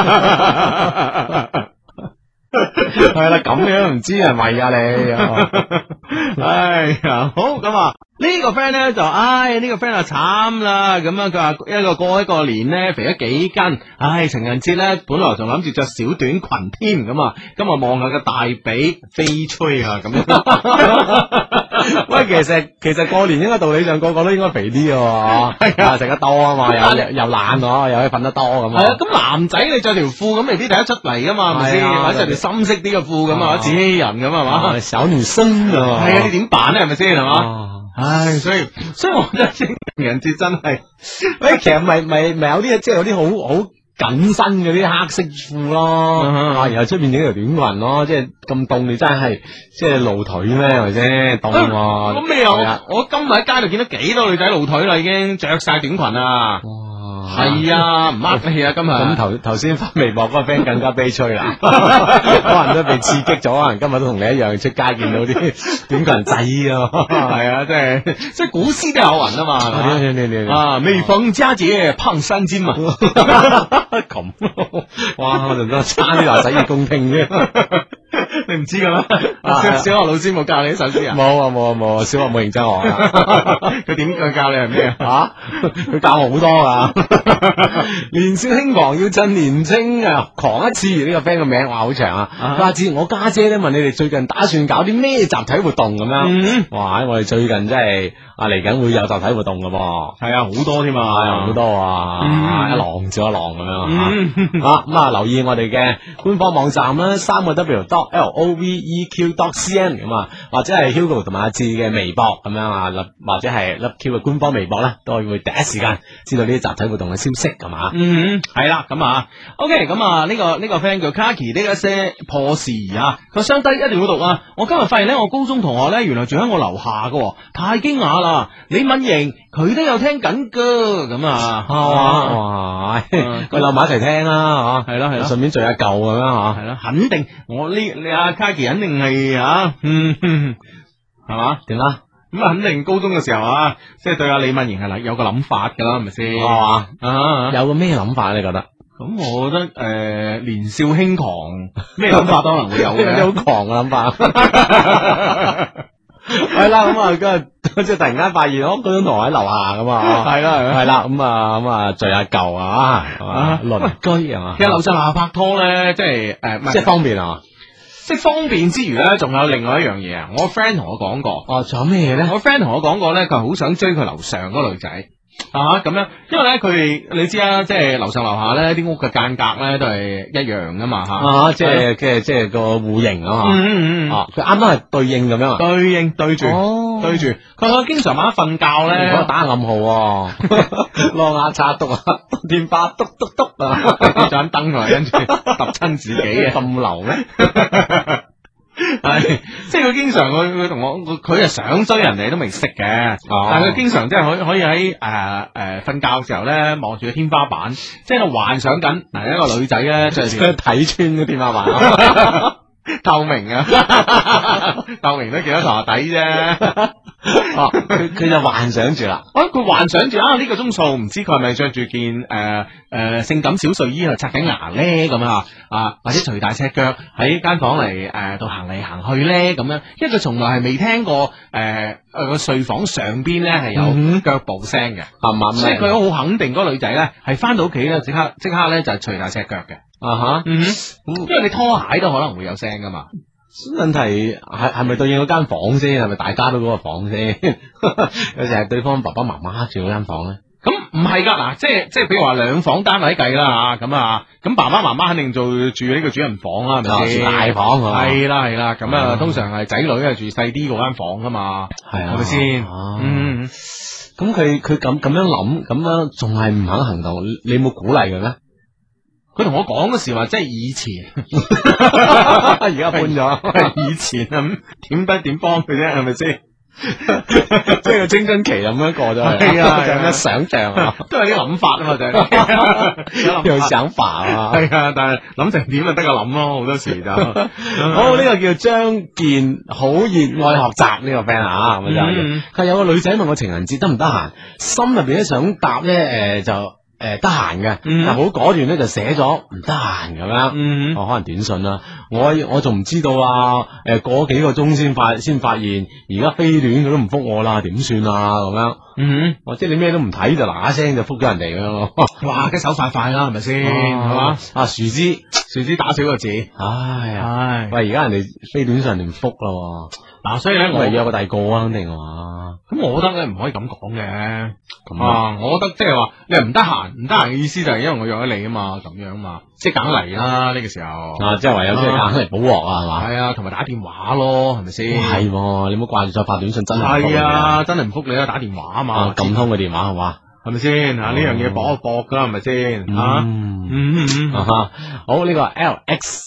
係啦，咁你都唔知係咪啊你？ 哎呀，好咁啊！呢個 friend 咧就，唉，呢個 friend 啊慘啦，咁啊佢話一個過一個年咧肥咗幾斤，唉，情人節咧本來仲諗住着小短裙添，咁啊，今日望下個大髀飛吹啊，咁樣。 喂，其實其實過年應該道理上個個都應該肥啲嘅，係啊，食得多啊嘛，又又懶嗬，又可以瞓得多咁啊。 係啊，咁男仔你着條褲咁未必睇得出嚟噶嘛，係咪先？或者着條深色啲嘅褲咁啊，自欺人咁係嘛？ 小女生啊， 係啊，你點辦咧？係咪先係嘛？唉，所以所以我覺得情人節真係， 喂，其實咪咪咪有啲即係有啲好好緊身嗰啲黑色褲咯，啊，然後出面整條短裙咯，即係咁凍，你真係即係露腿咩？係咪先凍？ 咁你又我今日喺街度見到幾多女仔露腿啦，已經着晒短裙啊！係啊，唔呃你啊，今日咁頭頭先發微博嗰個 friend 更加悲催啦，可能都被刺激咗，可能今日都同你一樣出街見到啲短裙仔啊， 係啊，即係即係古詩都有云啊嘛， 你你你啊，每逢佳節胖三斤嘛， 咁，哇，我仲得差啲話洗耳恭聽啫。 你唔知嘅咩？小學老師冇教你呢首詩啊？ 冇啊冇啊冇啊！小學冇認真學啊！ 佢點佢教你係咩啊？佢教我好多噶。年少輕狂要趁年青啊，狂一次！呢個 friend 個名話好長啊。阿志，我家姐咧問你哋最近打算搞啲咩集體活動咁樣？哇！我哋最近真係啊嚟緊會有集體活動噶噃。 係啊，好多添啊， 好多啊，一浪接一浪咁樣吓。啊咁啊，留意我哋嘅官方網站啦，三個 W dot L O V E Q dot C N 咁啊，或者係 Hugo 同埋阿志嘅微博咁樣啊，或者係 Love Q 嘅官方微博咧，都會第一時間知道呢啲集體活動嘅消息，係嘛？ 嗯，係啦，咁啊 ，OK，咁啊，呢個呢個 friend 叫 Kaki，呢一些破事啊，佢相低一定要讀啊！我今日發現咧，我高中同學咧，原來住喺我樓下噶，太驚訝啦！李敏瑩佢都有聽緊噶，咁啊， 哇，佢留埋一齊聽啦，吓， 係咯係咯， 順便聚下舊咁樣吓， 係咯，肯定我呢你阿 Kaki 肯定係吓，嗯，係嘛？ 點啊？ 咁啊，肯定高中嘅時候啊，即係對阿李敏瑩係有個諗法噶啦，係咪先？ 係嘛？ 啊， 有個咩諗法你覺得？ 咁我覺得誒，年少輕狂，咩諗法都可能會有嘅， 有啲好狂嘅諗法。係啦，咁啊，跟住即係突然間發現，我嗰種同學喺樓下咁啊， 係啦， 係啦，咁啊，咁啊，聚下舊啊，鄰居係嘛？ 其實樓上樓下拍拖咧，即係誒， 即係方便啊。 即係方便之餘咧，仲有另外一樣嘢啊！我 friend 同我講過， 哦，仲有咩嘢咧？ 我 friend 同我講過咧，佢係好想追佢樓上嗰個女仔啊咁樣，因為咧佢哋你知啊，即係樓上樓下咧啲屋嘅間隔咧都係一樣噶嘛吓， 啊，即係即係即係個戶型啊嘛， 嗯嗯嗯， 啊，佢啱啱係對應咁樣啊， 對應對住， 哦， 對住，佢佢經常晚黑瞓覺咧， 打暗號，攞牙刷篤啊，電話篤篤篤啊， 盞燈啊，跟住揼親自己嘅， 咁流咩？ 係，即係佢經常佢佢同我佢係想追人哋都未識嘅， 哦、 但係佢經常即係可可以喺誒誒瞓覺嘅時候咧望住個天花板，即係度幻想緊嗱一個女仔咧就係睇穿個天花板， 透明啊，透明都見到床下底啫。 哦，佢佢就幻想住啦。 哦，佢幻想住啊呢、這個鐘數，唔知佢係咪着住件誒誒、呃呃、性感小睡衣去刷緊牙咧咁啊啊，或者除大赤腳喺間房嚟誒度行嚟行去咧咁樣，因為佢從來係未聽過誒誒個睡房上邊咧係有腳步聲嘅，係嘛、嗯？所以佢好肯定嗰個女仔咧係翻到屋企咧即刻即刻咧就係除大赤腳嘅。啊哈，嗯，因為你拖鞋都可能會有聲噶嘛。 問題係係咪對應嗰間房先？係咪大家都嗰個房先？有時係對方爸爸媽媽住嗰間房咧？ 咁唔係噶，嗱，即係即係，譬如話兩房單位計啦吓，咁啊，咁爸爸媽媽肯定做住呢個主人房啦，係咪先？ 住大房係啦係啦，咁啊，通常係仔女係住細啲嗰間房噶嘛， 係啊， 係咪先？嗯， 咁佢佢咁咁樣諗，咁樣仲係唔肯行動，你有冇鼓勵佢咩？ 佢同我講嗰時話，即係以前， 而家搬咗， 以前咁點不點幫佢啫，係咪先？ 即係個青春期咁樣過咗去， 係啊， 就咁樣想象啊， 都係啲諗法啊嘛，就係有想法啊， 係啊，但係諗成點就得個諗咯，好多時就好。 呢個叫張健，好熱愛學習呢個 friend 啊，咁就佢有個女仔問我情人節得唔得閒，心入邊咧想答咧，誒就。誒，得閒嘅，但好果斷咧就寫咗唔得閒咁樣， 嗯， 哦，可能短信啦，我我仲唔知道啊，誒，過幾個鐘先發先發現，而家飛戀佢都唔覆我啦，點算啊咁樣， 嗯， 或者你咩都唔睇就嗱嗱聲就覆咗人哋咁咯， 哇，嘅手快快啦，係咪先？係嘛？ 啊，樹枝樹枝打少個字， 唉呀， 唉， 喂，而家人哋飛短信人哋唔覆啦， 嗱，所以咧我係約個第二個啊，肯定係嘛？ 咁我覺得咧唔可以咁講嘅，咁啊，我覺得即係話你係唔得閒，唔得閒嘅意思就係因為我約咗你啊嘛，咁樣嘛，即係梗嚟啦呢個時候， 啊，即係唯有即係梗嚟補鑊啊，係嘛？ 係啊，同埋打電話咯，係咪先？ 係，你唔好掛住再發短信，真係係啊，真係唔覆你啦，打電話啊嘛， 撳通個電話係嘛？ 係咪先？吓呢樣嘢搏一搏噶啦，係咪先？吓， 嗯嗯嗯啊好呢個 L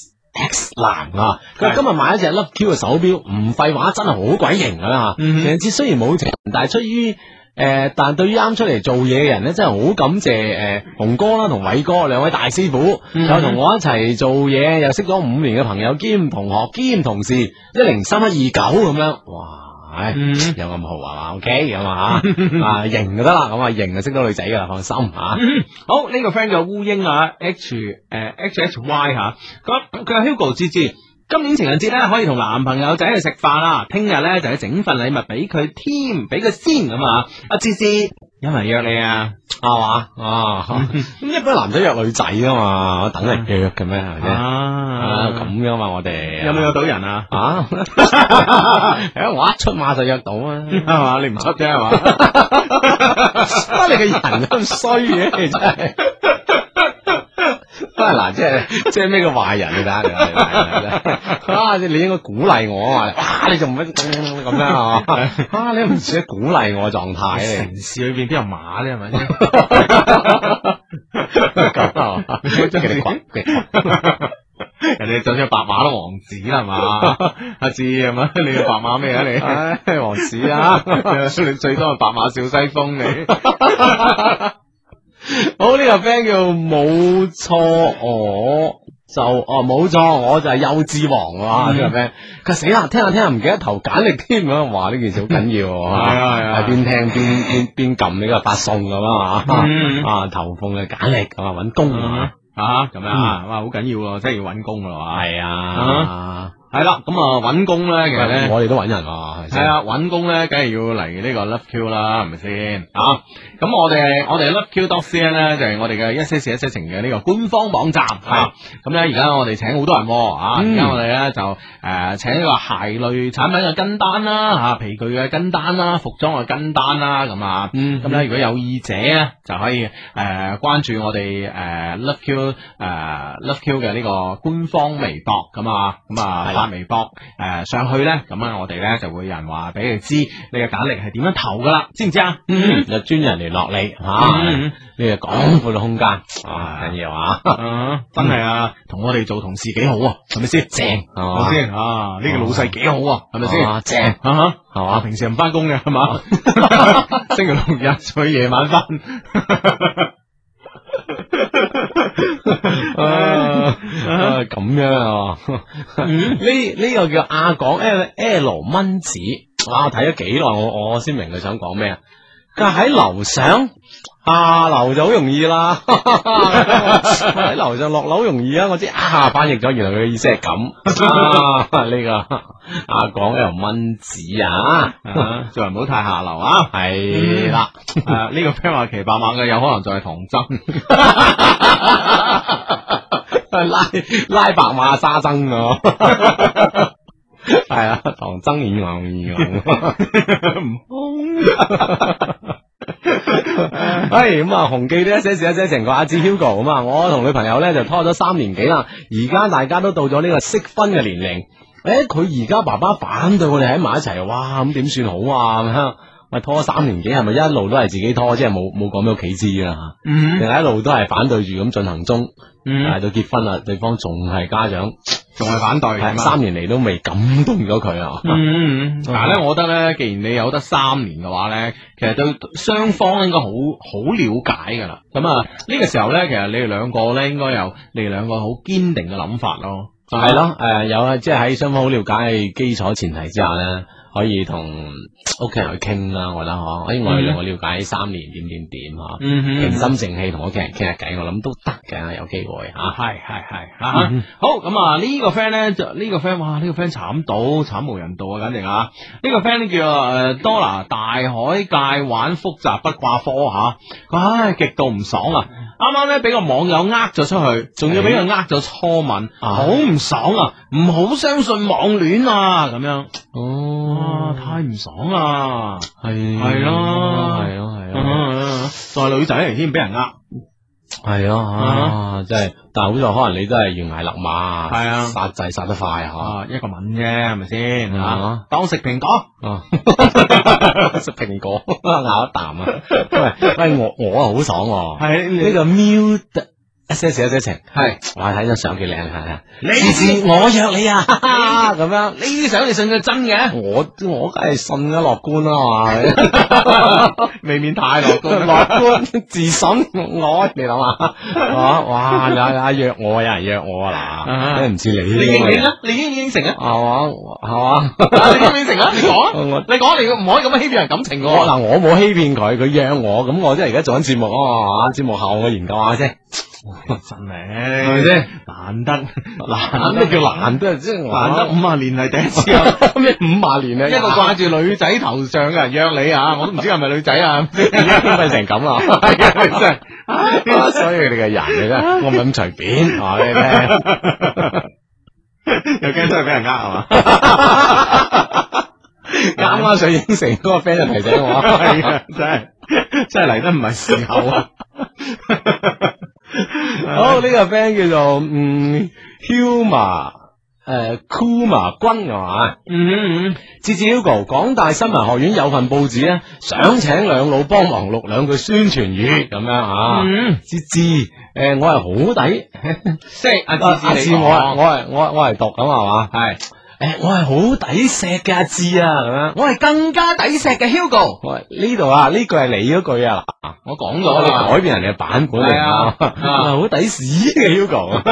X。X 男啊，佢今日買一隻 Love Q 嘅手錶，唔廢話，真係好鬼型噶啦！情人節雖然冇情，但係出於誒，但係對於啱出嚟做嘢嘅人咧，真係好感謝誒紅哥啦同偉哥兩位大師傅，又同我一齊做嘢，又識咗五年嘅朋友兼同學兼同事，一零三一二九咁樣，哇！唉，有咁豪啊嘛 ，OK 咁啊吓，啊型就得啦，咁啊型就識到女仔噶啦，放心吓。 好，呢個 friend 叫烏蠅啊，H 誒 H H Y 吓，佢佢話 Hugo 芝芝，今年情人節咧可以同男朋友仔去食飯啦，聽日咧就要整份禮物俾佢添，俾佢先咁啊，阿芝芝有人約你啊， 係嘛啊？咁一般男仔約女仔啊嘛，等人約嘅咩係咪先？啊咁樣嘛，我哋有冇約到人啊？ 啊，誒我一出馬就約到啊， 係嘛？你唔出啫係嘛？ 啊你個人咁衰嘅，你真係。啊嗱，即係即係咩叫壞人你睇下，你啊你應該鼓勵我啊，哇你仲唔咁樣啊？啊你唔似得鼓勵我狀態咧？ 城市裏邊邊有馬咧係咪先？ 咁啊，即係你講人哋就算白馬都王子啦係嘛？阿志係嘛？你個白馬咩啊你？ 唉王子啊， 你最多係白馬小西風你。 好呢、這個 friend 叫冇錯，我就哦冇錯，我就係幼稚王啊！呢、嗯、個 friend 佢死啦，聽下聽下唔記得投簡歷添咁，話呢件事好緊要，係啊係啊，邊聽邊邊邊撳呢個發送咁啊嘛，啊投放嘅簡歷咁啊搵工啊啊咁樣啊，哇好緊要喎，真係要搵工噶啦， 係啊。 係啦，咁啊揾工咧，其實咧我哋都揾人啊， 係啊，揾工咧，梗係要嚟呢個 Love Q 啦，係咪先啊？咁我哋我哋 Love Q dot C N 咧就係我哋嘅一些事一些情嘅呢個官方網站啊。咁咧而家我哋請好多人啊，而家我哋咧就誒請呢個鞋類產品嘅跟單啦，吓皮具嘅跟單啦，服裝嘅跟單啦，咁啊，咁咧如果有意者咧就可以誒關注我哋誒 Love Q 誒 Love Q 嘅呢個官方微博咁啊，咁啊。發微博誒、呃、上去咧，咁啊我哋咧就會有人話俾你知你嘅簡歷係點樣投噶啦，知唔知啊？ 嗯，有專人聯絡你吓，呢個廣闊嘅空間啊，緊要啊， 真係啊，同我哋做同事幾好啊，係咪先？正係咪先？啊，呢個老細幾好啊，係咪先？正啊，係嘛？平時唔翻工嘅係嘛？星期六日再夜晚翻。 啊咁樣啊，呢呢個叫阿港 L L 蚊子，哇！我睇咗幾耐，我我先明佢想講咩啊？佢話喺樓上下樓就好容易啦，喺樓上落樓好容易啊！我知啊，翻譯咗，原來佢嘅意思係咁啊！呢個阿港 L 蚊子啊， 做人唔好太下流啊！ 係啦， 誒呢個 friend 話騎白馬嘅有可能就係唐僧。 拉拉白馬沙僧啊，係啊，唐僧演講演講，唔係咁啊，紅記呢一些事一些情，個阿志 Hugo 咁啊，我同女朋友咧就拖咗三年幾啦，而家大家都到咗呢個適婚嘅年齡。誒，佢而家爸爸反對我哋喺埋一齊，哇，咁點算好啊？咁樣，喂，拖咗三年幾，係咪一路都係自己拖，即係冇冇講俾屋企知啊？ 嗯定係一路都係反對住咁進行中？ 嗯但係到結婚啦，對方仲係家長， 仲係反對， 係三年嚟都未感動咗佢啊！ 嗯嗯，嗱咧，我覺得咧，既然你有得三年嘅話咧，其實對雙方應該好好了解噶啦。咁啊，呢個時候咧，其實你哋兩個咧，應該有你哋兩個好堅定嘅諗法咯。 係咯，誒，有啊，即係喺雙方好了解嘅基礎前提之下咧，可以同屋企人去傾啦。我覺得嗬，誒，我哋兩個了解三年點點點嗬， 嗯哼， 平心靜氣同屋企人傾下偈，我諗都得嘅，有機會吓。 係係係吓，好咁啊！呢個 friend 咧就呢個 friend，哇！呢個 friend 慘到慘無人道啊，簡直啊！呢個 friend 咧叫誒 Dora 大海界玩複雜不掛科吓，唉，極度唔爽啊！啱啱咧俾個網友呃咗出去，仲要俾佢呃咗初吻，好唔爽啊！唔好相信網戀啊！咁樣哦，太唔爽啦！ 係係咯， 係咯，係咯， 再女仔嚟添，俾人呃。 係咯，啊，真係，但係好在可能你都係懸崖勒馬， 係啊， 殺仔殺得快吓， 啊，一個吻啫，係咪先啊吓？當食蘋果， 啊，食蘋果咬一啖啊！喂喂，我我啊好爽喎， 係呢個 Miu 一些事一些情， 係， 哇睇張相幾靚係， 你次我約你啊，咁樣呢啲相你信佢真嘅？ 我我梗係信啦，樂觀啦嘛， 未免太樂觀， 樂觀自信，我你諗下，哇哇有有約我，有人約我啊嗱，真係唔似你你呢個人， 應唔應啊？你應唔應承啊？ 係嘛係嘛。 你應唔應承啊？你講啊！ 我你講，你唔可以咁樣欺騙人感情嘅。 我嗱，我冇欺騙佢，佢約我，咁我即係而家做緊節目啊嘛，節目後我研究下先， 真係係咪先？ 難得難咩叫難得？即係難得五啊年嚟第一次啊！ 咩五萬年啊？ 一個掛住女仔頭上嘅人約你啊！我都唔知係咪女仔啊！ 已經變成咁啦， 係啊，真係。 所以你個人嚟啫，我唔係咁隨便話俾你聽。 又驚真係俾人呃係嘛？ 啱啱想應承嗰個 friend 就提醒我， 係啊，真係真係嚟得唔係時候啊！ 好，呢個 friend 叫做嗯 Huma 誒 Kuma 君係嘛？ 嗯嗯志志 Hugo，廣大新聞學院有份報紙咧，想請兩老幫忙錄兩句宣傳語咁樣啊。 嗯， 志志，誒我係好抵， 即係阿阿志志志， 我係我係我我係讀咁係嘛？ 係。 誒，我係好抵錫嘅阿志啊，咁樣。 我係更加抵錫嘅 Hugo。 喂，呢度啊，呢句係你嗰句啊， 我講我哋咗改變人哋嘅版本嚟係啊啊，好抵屎嘅 Hugo。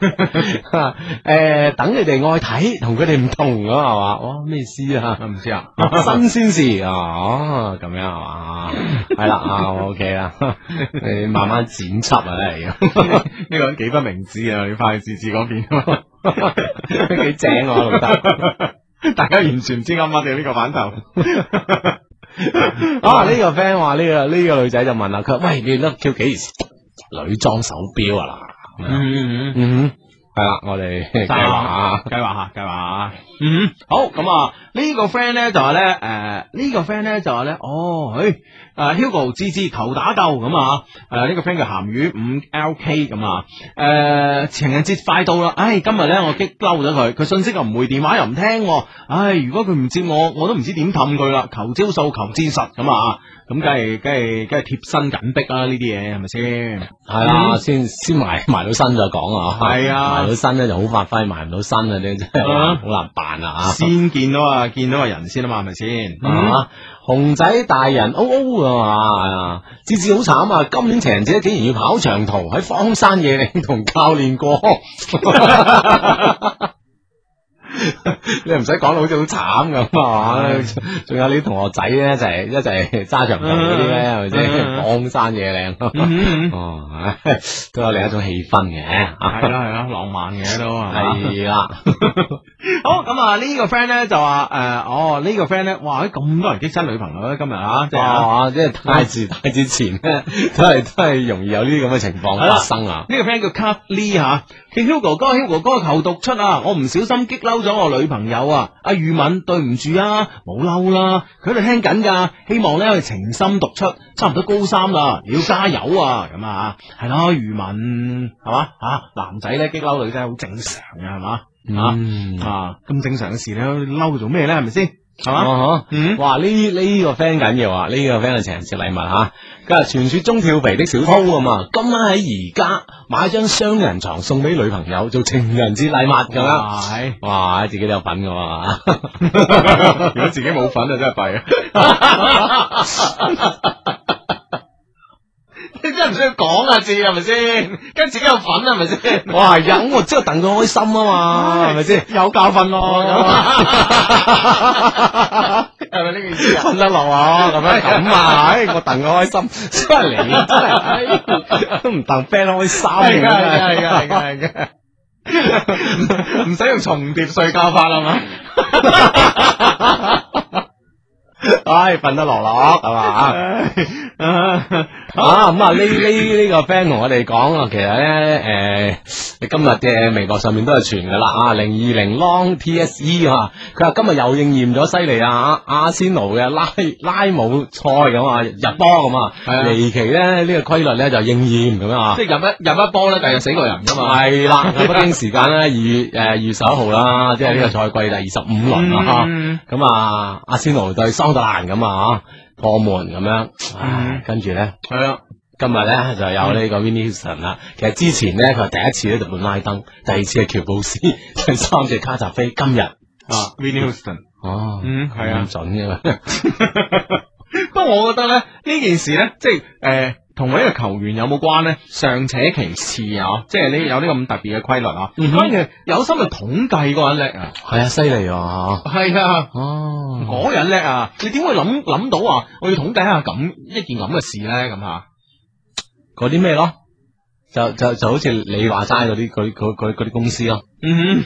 誒，等你哋愛睇，同佢哋唔同咁係嘛？哇，咩意思啊？ 唔知啊， 新鮮事啊，哦，咁樣係嘛？係啦，啊，OK 啦，你慢慢剪輯啊，嚟嘅。 呢個幾不明智啊！你翻去志志嗰邊， 幾正啊，老豆。 大家完全唔知啱乜嘅呢個版頭。 啊，呢個 friend 話呢個呢個女仔就問啦，佢話喂，你得叫幾時女裝手錶啊啦？ 嗯嗯嗯，係啦，我哋計劃下， 計劃下，計劃下。嗯，好咁啊！呢個 friend 咧就話咧，誒，呢個 friend 咧就話咧，哦，佢誒 Hugo 芝芝求打救咁啊！誒，呢個 friend 叫鹹魚五 L K 咁啊！誒，情人節快到啦，唉，今日咧我激嬲咗佢，佢信息又唔回，電話又唔聽，唉，如果佢唔接我，我都唔知點氹佢啦，求招數，求戰術咁啊！咁梗係梗係梗係貼身緊迫啦，呢啲嘢係咪先？ 係啦，先先埋埋到身再講啊！ 係啊， 埋到身咧就好發揮，埋唔到身啊，你真係好難辦啊！ 先見到啊，見到個人先啊嘛，係咪先？ 啊，熊仔大人 O O 啊嘛，芝芝好慘啊！今年情人節竟然要跑長途喺荒山野嶺同教練過。你唔使講到好似好慘咁啊！仲有你同學仔咧，一齊一齊揸長途嗰啲咧，係咪先？荒山野嶺，哦，都有另一種氣氛嘅， 係啦係啦，浪漫嘅都係啦。 好咁啊！呢個 friend 咧就話誒，哦呢個 friend 咧，哇！咁多人激親女朋友咧，今日啊，即係啊，即係太遲太之前咧，都係都係容易有呢啲咁嘅情況發生啊！ 呢個 friend 叫 Cut Lee 吓， 叫 Hugo 哥 Hugo 哥求讀出啊！我唔小心激嬲咗我女朋友啊！阿宇敏對唔住啊，冇嬲啦，佢喺度聽緊噶，希望咧佢情深讀出，差唔多高三啦，你要加油啊！咁啊，係咯，宇敏係嘛啊，男仔咧激嬲女仔好正常嘅係嘛。 嗯啊咁正常嘅事，你嬲佢做咩咧？係咪先？係嘛？ 啊嗯，哇！呢呢個 friend 緊要啊，呢個 friend 嘅情人節禮物吓，今日傳說中跳肥的小偷啊嘛，今晚喺而家買張雙人床送俾女朋友做情人節禮物咁樣， 係哇！自己都有份噶嘛， 如果自己冇份啊，真係弊啊！你真係唔需要講啊，字係咪先？跟自己有份係咪先？ 哇！有我即係戥佢開心啊嘛，係咪先？ 有教訓咯，係咪呢個意思啊？ 瞓得落啊，咁樣咁啊，唉，我戥佢開心，真係你真係都唔戥 friend 開心係噶係噶係噶係噶係噶，唔使用重疊睡覺法啦嘛。 唉，瞓得落落係嘛啊咁啊呢呢呢個 friend 同我哋講啊，其實咧誒，你今日嘅微博上面都係傳噶啦啊，零二零 long T S E 啊，佢話今日又應驗咗犀利啊，阿仙奴嘅拉拉姆賽咁啊，入波咁啊，離奇咧呢個規律咧就應驗咁啊， 即係入一入一波咧，第日死個人噶嘛。 係啦，北京時間咧二月誒二月十一號啦，即係呢個賽季第二十五輪啦吓，咁啊阿仙奴對桑特蘭咁啊破門咁樣，唉，跟住咧係啊。 今日咧就有呢個 Vinnie Houston 啦，其實之前咧佢係第一次咧就本拉登，第二次係喬布斯，第三隻卡扎菲，今日啊 Vinnie Houston， 哦， 嗯係啊， 咁準嘅嘛。 不過我覺得咧呢件事咧，即係誒同呢個球員有冇關咧，尚且其次啊，即係呢有呢個咁特別嘅規律啊。關鍵有心去統計嗰個人叻啊， 係啊，犀利啊， 係啊， 哦， 嗰人叻啊，你點會諗諗到話我要統計下咁一件咁嘅事咧？咁啊？ 嗰啲咩咯？就就就好似你話齋嗰啲嗰嗰嗰嗰啲公司咯。 嗯，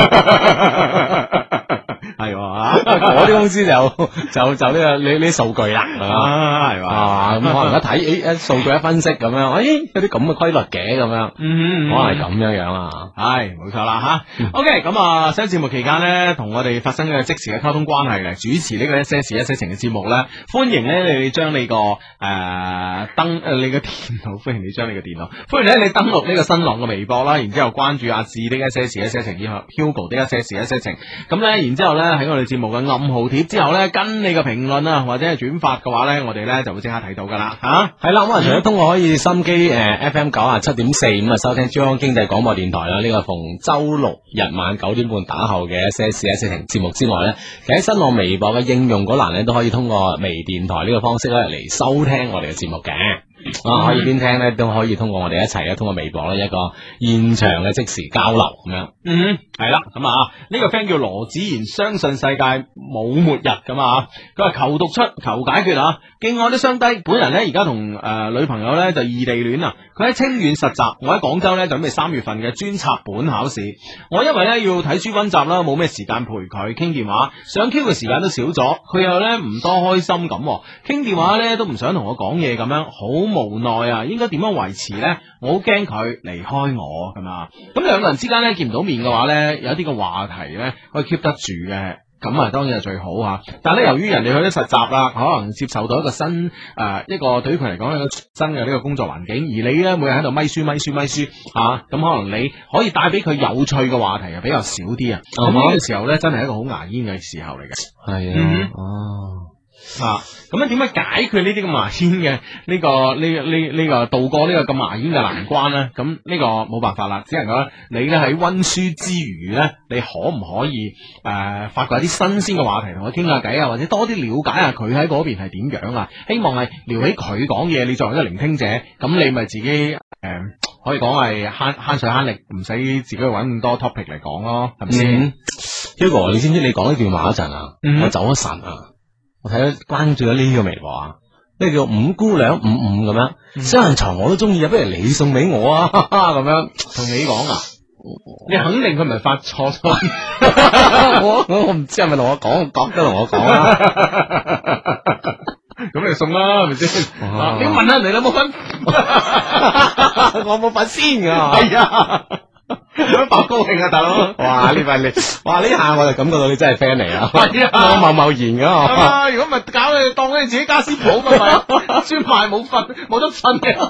係啊， 嗰啲公司就就就呢個呢呢數據啦，係嘛， 係嘛， 啊咁可能一睇，誒一數據一分析咁樣，誒有啲咁嘅規律嘅咁樣， 嗯， 可能係咁樣樣啊， 係冇錯啦吓。OK，咁啊，喺節目期間咧，同我哋發生嘅即時嘅溝通關係嚟主持呢個一些事一些情嘅節目咧，歡迎咧你哋將你個誒登誒你嘅電腦，歡迎你將你嘅電腦，歡迎咧你登錄呢個新浪嘅微博啦，然之後關注阿志的一些事一些情，以及 Hugo 的一些事一些情，咁咧然之後咧喺我哋節目嘅暗號貼之後咧，跟你嘅評論啊或者係轉發嘅話咧，我哋咧就會即刻睇到噶啦吓。 係啦，咁啊除咗通過可以心機誒 F M 九啊七點四咁啊收聽珠江經濟廣播電台啦，呢個逢周六日晚九點半打後嘅一些事一些情節目之外咧，其實喺新浪微博嘅應用嗰欄咧都可以通過微電台呢個方式咧嚟收聽我哋嘅節目嘅。啊，可以邊聽咧，都可以通過我哋一齊咧，通過微博咧一個現場嘅即時交流咁樣。 嗯，係啦，咁啊，呢、這個 friend 叫羅子賢，相信世界冇末日咁啊，佢話求讀出，求解決啊，敬愛的雙低，本人咧而家同誒女朋友咧就異地戀啊，佢喺清遠實習，我喺廣州咧準備三月份嘅專插本考試，我因為咧要睇書溫習啦，冇咩時間陪佢傾電話，上 Q 嘅時間都少咗，佢又咧唔多開心咁，傾電話咧都唔想同我講嘢咁樣，好無奈啊，應該點樣維持呢？我好驚佢離開我咁啊！咁兩個人之間咧見唔到面嘅話呢，有一啲嘅話題呢可以 keep 得住嘅，咁啊當然係最好啊！但係咧由於人哋去咗實習啦，可能接受到一個新誒、呃、一個對於佢嚟講一個新嘅呢個工作環境，而你呢，每日喺度咪書咪書咪書啊，咁可能你可以帶俾佢有趣嘅話題又比較少啲啊！咁呢、嗯、個時候呢，真係一個好牙煙嘅時候嚟嘅， 係啊， 嗯、 哦。 啊，咁樣點樣解決呢啲咁牙煙嘅呢個呢呢呢個渡過呢個咁牙煙嘅難關咧？咁呢個冇辦法啦，只能夠你咧喺溫書之餘咧，你可唔可以誒、呃、發掘一啲新鮮嘅話題同佢傾下偈啊，或者多啲了解下佢喺嗰邊係點樣啊？希望係撩起佢講嘢，你作為一個聆聽者，咁你咪自己誒、呃、可以講係慳慳水慳力，唔使自己去搵咁多 topic 嚟講咯，係咪先 ？Hugo，你知唔知你講呢段話嗰陣啊？ 嗯、我走咗神啊！我睇咗關注咗呢個微博啊，呢個叫五姑娘五五咁樣，雙人床我都中意啊，不如你送俾我啊，咁樣同你講啊，你肯定佢唔係發錯錯， 我我唔知係咪同我講，覺得同我講啊， 咁你送啦，係咪先？你問下人哋有冇份， 我冇份先噶， 係啊。 白高興啊，大佬！ 哇！呢份你，哇！呢下我就感覺到你真係 friend 嚟啊！ 係啊我貿貿然噶啊！如果唔係搞你當你自己家私鋪咁咪，專賣冇瞓冇得瞓嘅。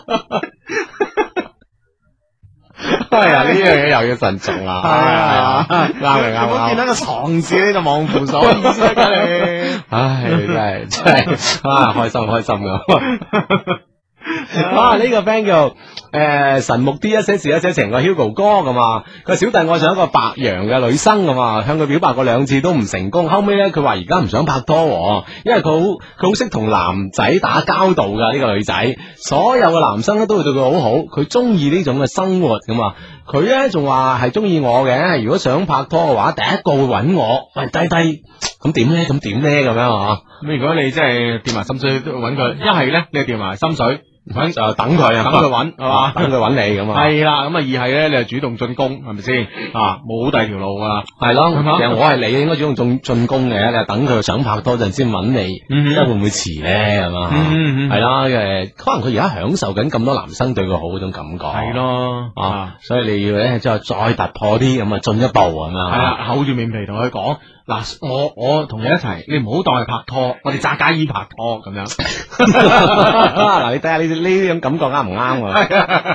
係啊！呢樣嘢又要慎重啦。 係啊， 啱嘅啱我見嘅。 到個床字你就望扶手，意思㗎你。 唉，真係真係啊！開心開心噶。哇！呢、個 friend 叫誒、呃、神木 D 一些事一些情個 Hugo 哥咁啊，佢話小弟愛上一個白羊嘅女生咁啊，向佢表白過兩次都唔成功，後尾咧佢話而家唔想拍拖喎，因為佢好佢好識同男仔打交道噶呢、個女仔，所有嘅男生咧都會對佢好好，佢中意呢種嘅生活咁啊，佢咧仲話係中意我嘅，如果想拍拖嘅話，第一個會揾我，喂低低咁點咧？咁點咧？咁樣啊？ 咁如果你真係掂埋心水都揾佢，一係咧你就掂埋心水。 咁就等佢啊， 等佢揾係嘛， 等佢揾你咁啊， 係啦，咁啊二係咧，你就主動進攻，係咪先啊？冇第二條路噶啦， 係咯， 係嘛其實我係你應該主動進進攻嘅，你係等佢想拍拖陣先揾你， 嗯即係會唔會遲咧？係嘛， 嗯嗯嗯係啦，誒，可能佢而家享受緊咁多男生對佢好嗰種感覺， 係咯啊，所以你要咧即係再突破啲咁啊，進一步咁樣， 係啦，厚住面皮同佢講。嗱，我我同你一齊，你唔好當係拍拖，我哋扎家衣拍拖咁樣。 嗱，你睇下呢呢呢種感覺啱唔啱啊？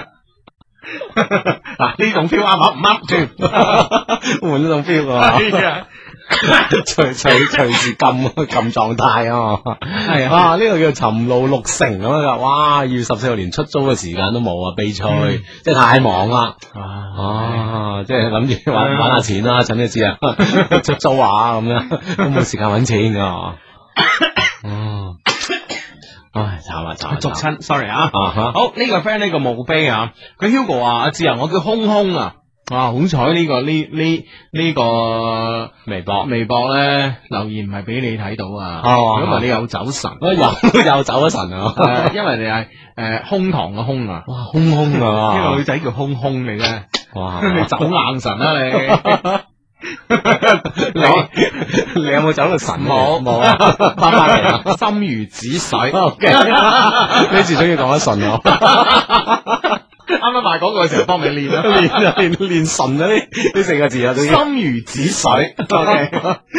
嗱，呢種 feel 啱唔啱？轉換呢種 feel 啊！ 係啊， 隨隨隨時撳撳狀態啊！ 係啊， 啊呢、個叫尋路六成咁樣噶，哇！二月十四號連出租嘅時間都冇啊，悲催， 嗯即係太忙啦。 啊， 啊，即係諗住玩玩下錢啦，趁你知啊，出租啊咁樣，都冇時間揾錢噶。哦，唉，慘啊慘啊！ 續親，sorry 啊。 啊哈， 好呢個 friend 呢個墓碑啊，佢 Hugo 話阿志啊，我叫空空啊。哇！好彩呢個呢呢呢個微博微博咧留言唔係俾你睇到啊， 哦如果唔係你有走神， 又又走咗神啊！ 誒因為你係誒空堂嘅空啊， 哇，空空啊！ 呢個女仔叫空空嚟啫， 哇， 你走硬神啊你。 你你有冇走到神？ 冇冇啊，翻返嚟啊！ 心如止水。 OK，呢次終於講得順咯。 啱啱賣廣告嘅時候幫你練啦， 練啊練練順啊呢呢四個字啊，都已經心如止水。OK，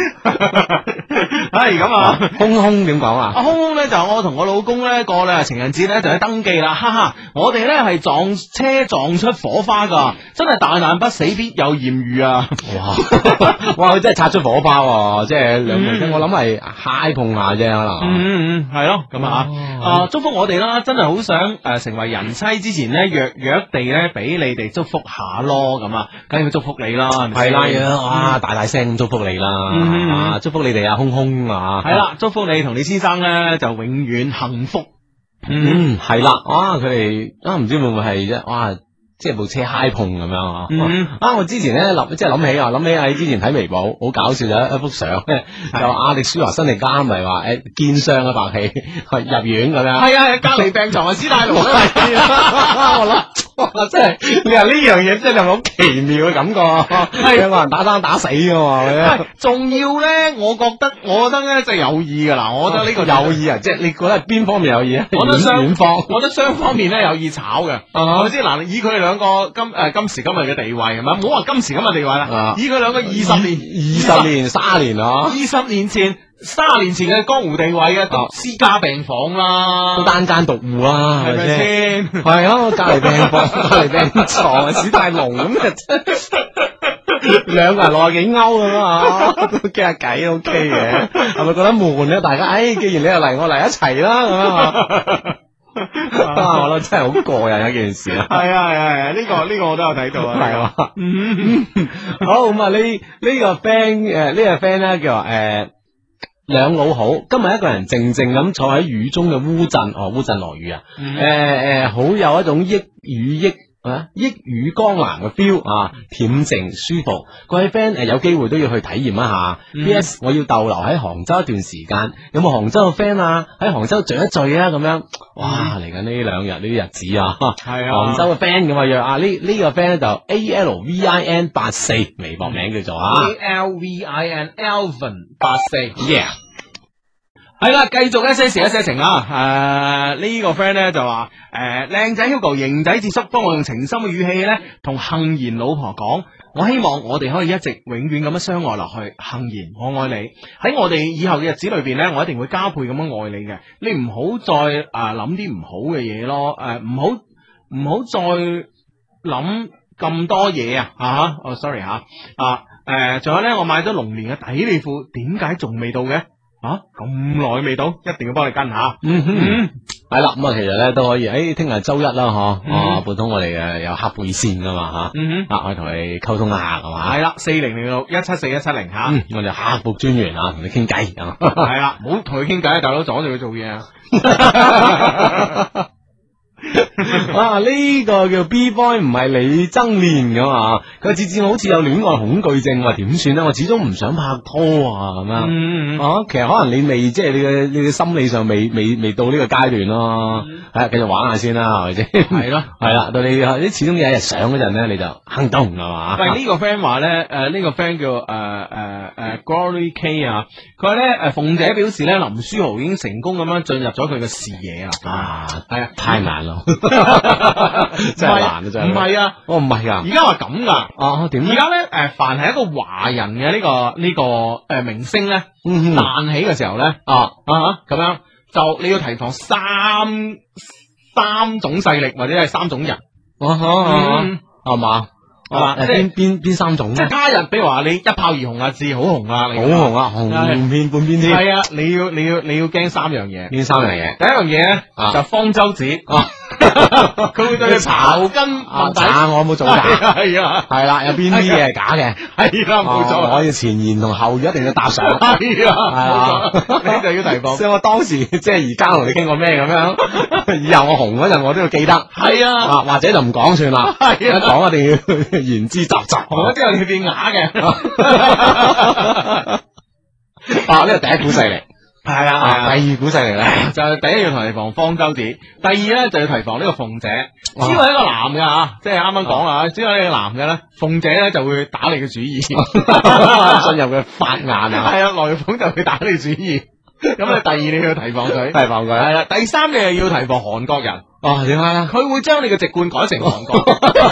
係咁啊， 空空點講啊？ 阿空空咧就我同我老公咧過咧情人節咧就去登記啦，哈哈！我哋咧係撞車撞出火花噶，真係大難不死必有艷遇啊！ 哇哇，佢真係擦出火花喎！即係兩個，我諗係嗨碰下啫，可能。 嗯嗯，係咯，咁啊啊祝福我哋啦！真係好想誒成為人妻之前咧，約約地咧俾你哋祝福下咯，咁啊，梗係要祝福你啦，係咪係先？ 啦，哇！大大聲咁祝福你啦， 嗯啊！祝福你哋啊，空空啊！ 係啦，祝福你同你先生咧就永遠幸福。 嗯，係啦，哇！佢哋啊，唔知會唔會係啫？哇！即係部車嗨碰咁樣啊！ 嗯啊！我之前咧諗，即係諗起啊，諗起喺之前睇微博好搞笑嘅一幅相咧，就亞迪舒華辛力加咪話誒肩傷啊白氣入院咁樣。 係啊，隔離病床啊，史泰龍啊， 我諗哇，真係你話呢樣嘢真係好奇妙嘅感覺，係兩個人打生打死噶嘛？ 仲要咧，我覺得，我覺得咧就係有意噶啦，我覺得呢個有意啊，即係你覺得係邊方面有意啊？ 我覺得雙遠方， 我覺得雙方面咧有意炒嘅，係咪先？嗱，以佢哋兩個今誒今時今日嘅地位係咪？唔好話今時今日地位啦，以佢兩個二十年、 二十年、卅年啊， 二十年前、卅年前嘅江湖地位嘅，都私家病房啦， 都單間獨戶啦， 係咪先？ 係啊，隔離病房、隔離病床啊，史泰龍咁啊，兩個人六十幾歐咁啊，都傾下偈 OK 嘅，係咪覺得悶咧？大家，誒，既然你又嚟，我嚟一齊啦，咁啊。啊！我覺得真係好過癮一件事啊！ 係啊係啊係啊！呢個呢個我都有睇到啊！ 係嘛？嗯，好咁啊！呢呢個 friend 誒，呢個 friend 咧叫話誒，兩老好，今日一個人靜靜咁坐喺雨中嘅烏鎮，哦，烏鎮落雨啊！誒誒，好有一種益雨益。啊！一語江南嘅 feel 啊，恬靜舒服。各位 friend 誒，有機會都要去體驗一下。 嗯、 P S 我要逗留喺杭州一段時間，有冇杭州嘅 friend 啊？喺杭州聚一聚啊！咁樣，哇！嚟緊呢兩日呢啲日子啊， 係啊， 杭州嘅 friend 咁啊約啊呢呢個 friend 咧就 A L V I N 八四微博名叫做啊 A L V I N Alvin 八四 ，yeah。 係啦，繼續一些事一些情啊！誒、呢、個 friend 咧就話誒，靚仔 Hugo 型仔智叔，幫我用情深嘅語氣咧，同幸賢老婆講，我希望我哋可以一直永遠咁樣相愛落去。幸賢，我愛你，喺我哋以後嘅日子裏邊咧，我一定會加倍咁樣愛你嘅。你唔好再誒諗啲唔好嘅嘢咯，誒唔好唔好再諗咁多嘢啊！吓，哦，sorry 吓，啊，誒，仲有咧，我買咗龍年嘅底利褲，點解仲未到嘅？啊，咁耐未到，一定要幫你跟下。 嗯哼，係啦，咁啊，其實咧都可以，誒，聽日周一啦，嗬，啊，撥通我哋嘅有客背線噶嘛，吓， 嗯啊，可以同你溝通一下，係嘛， 係啦，四零零六一七四一七零吓， 嗯，我哋客服專員啊，同你傾偈， 係啦，唔好同佢傾偈，大佬阻住佢做嘢啊。 啊！呢、這個叫 B boy 唔係李爭練噶嘛？佢次次好似有戀愛恐懼症，話點算咧？我始終唔想拍拖啊，咁樣。 嗯啊，其實可能你未即係你嘅你嘅心理上未未未到呢個階段咯。係啊，繼續玩下先啦，係咪先？ 係咯， 係啦，到你你始終有一日上嗰陣咧，你就行動係嘛？ 喂，呢個 friend 話咧，誒呢個 friend 叫誒誒誒 Glory K 啊，佢話咧誒鳳姐表示咧林書豪已經成功咁樣進入咗佢嘅視野啦。 啊， 係啊， 太難咯，真係難啊！真係唔係啊， 我唔係啊， 而家話咁噶。 哦點而家咧誒，凡係一個華人嘅呢個呢個誒明星咧嗯彈起嘅時候咧， 啊啊咁樣就你要提防三三種勢力或者係三種人。嗯係嘛？ 啊， 誒邊邊邊三種咧？ 即係他日，比如話你一炮而紅啊，字好紅啊， 好紅啊，紅遍半邊天。 係啊，你要你要你要驚三樣嘢。 邊三樣嘢？ 第一樣嘢咧就方舟子，佢會對你刨根問底。 假我冇做假， 係啊， 係啦，有邊啲嘢係假嘅？ 係啦，冇錯。 我要前言同後語一定要搭上。 係啊， 係啊， 你就要提防。 所以我當時即係而家同你傾過咩咁樣，以後我紅嗰陣我都要記得。 係啊， 啊或者就唔講算啦。係啊，一講一定要言之鑿鑿。 紅咗之後你變啞嘅。 啊，呢個第一股勢力。 係啊，係啊。 第二股勢力咧， 就係第一要提防方舟子，第二咧就要提防呢個鳳姐。只要係一個男嘅吓，即係啱啱講啊，只要係一個男嘅咧，鳳姐咧就會打你嘅主意，進入佢法眼啊。 係啊，來鳳就會打你主意。咁啊，第二你要提防佢， 提防佢。 係啦，第三你係要提防韓國人。 哦，點解咧？ 佢會將你嘅籍貫改成韓國，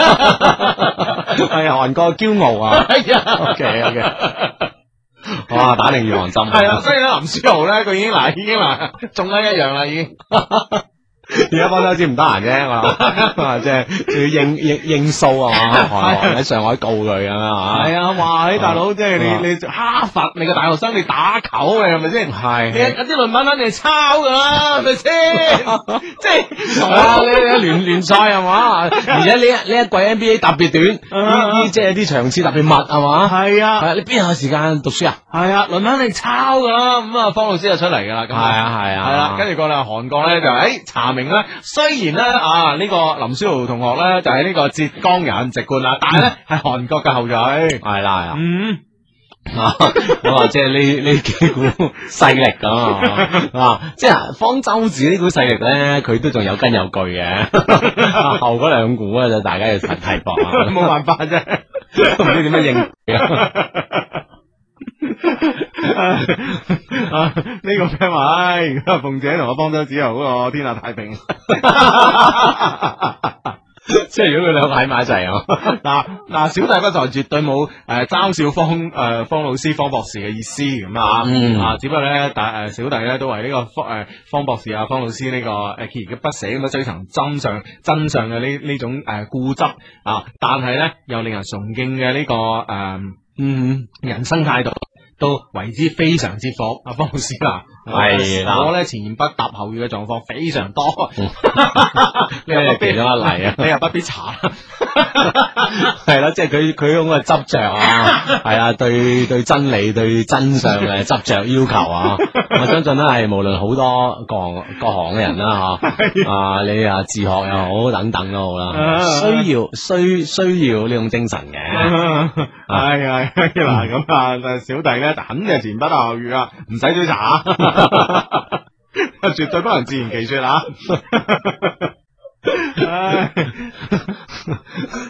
係韓國驕傲啊！ 係啊 ，OK OK。哇！打定預防針。 係啊，所以咧林書豪咧，佢已經嗱，已經嗱中咗一樣啦，已經。 而家方舟子唔得閒啫，我即係要應應應訴啊嘛，韓國喺上海告佢咁啊， 係啊，哇！大佬即係你你哈佛你個大學生你打球嘅係咪先？ 係你有啲論文肯定係抄噶啦，係咪先？即係啊！你你聯聯賽係嘛？而且呢一呢一季 N B A 特別短，呢即係啲場次特別密係嘛？ 係啊， 係你邊有時間讀書啊？ 係啊，論文肯定抄噶啦，咁啊方老師就出嚟噶啦，咁係啊係啊， 係啦，跟住過嚟韓國咧就誒查明咧，雖然咧啊呢個林書豪同學咧就係呢個浙江人籍貫啦，但係咧係韓國嘅後裔， 係啦係啊， 嗯。 啊，我話即係呢呢幾股勢力咁啊，即係方舟子呢股勢力咧，佢都仲有根有據嘅，後嗰兩股啊，就大家要提提防啊， 冇辦法啫， 都唔知點樣應啊！呢、這個 friend 話，唉，如果鳳姐同我方舟子好個天下太平。 即係如果佢兩個喺埋一齊啊， 嗱嗱，小弟不才，絕對冇誒嘲笑方誒、呃、方老師、方博士嘅意思咁啊， 嗯、 啊，只不過咧，但誒小弟咧都為呢個方誒、呃、方博士啊、方老師呢、這個誒鍥而不捨咁樣追尋真相真相嘅呢呢種誒、呃、固執啊，但係咧又令人崇敬嘅呢、這個誒、呃、嗯人生態度。都為之非常之服，阿方老師啊，係啦，我咧前言不搭後語嘅狀況非常多，你又不必咗一嚟啊，你又不必查， 係啦，即係佢佢嗰個執着啊，係啊，對對真理對真相嘅執着要求啊，我相信咧係無論好多各行各行嘅人啦吓，啊你啊自學又好等等都好啦，需要需需要呢種精神嘅， 係係嗱咁啊，小弟咧。肯定係前不搭後語啊，唔使追查，絕對不能自圓其說啊！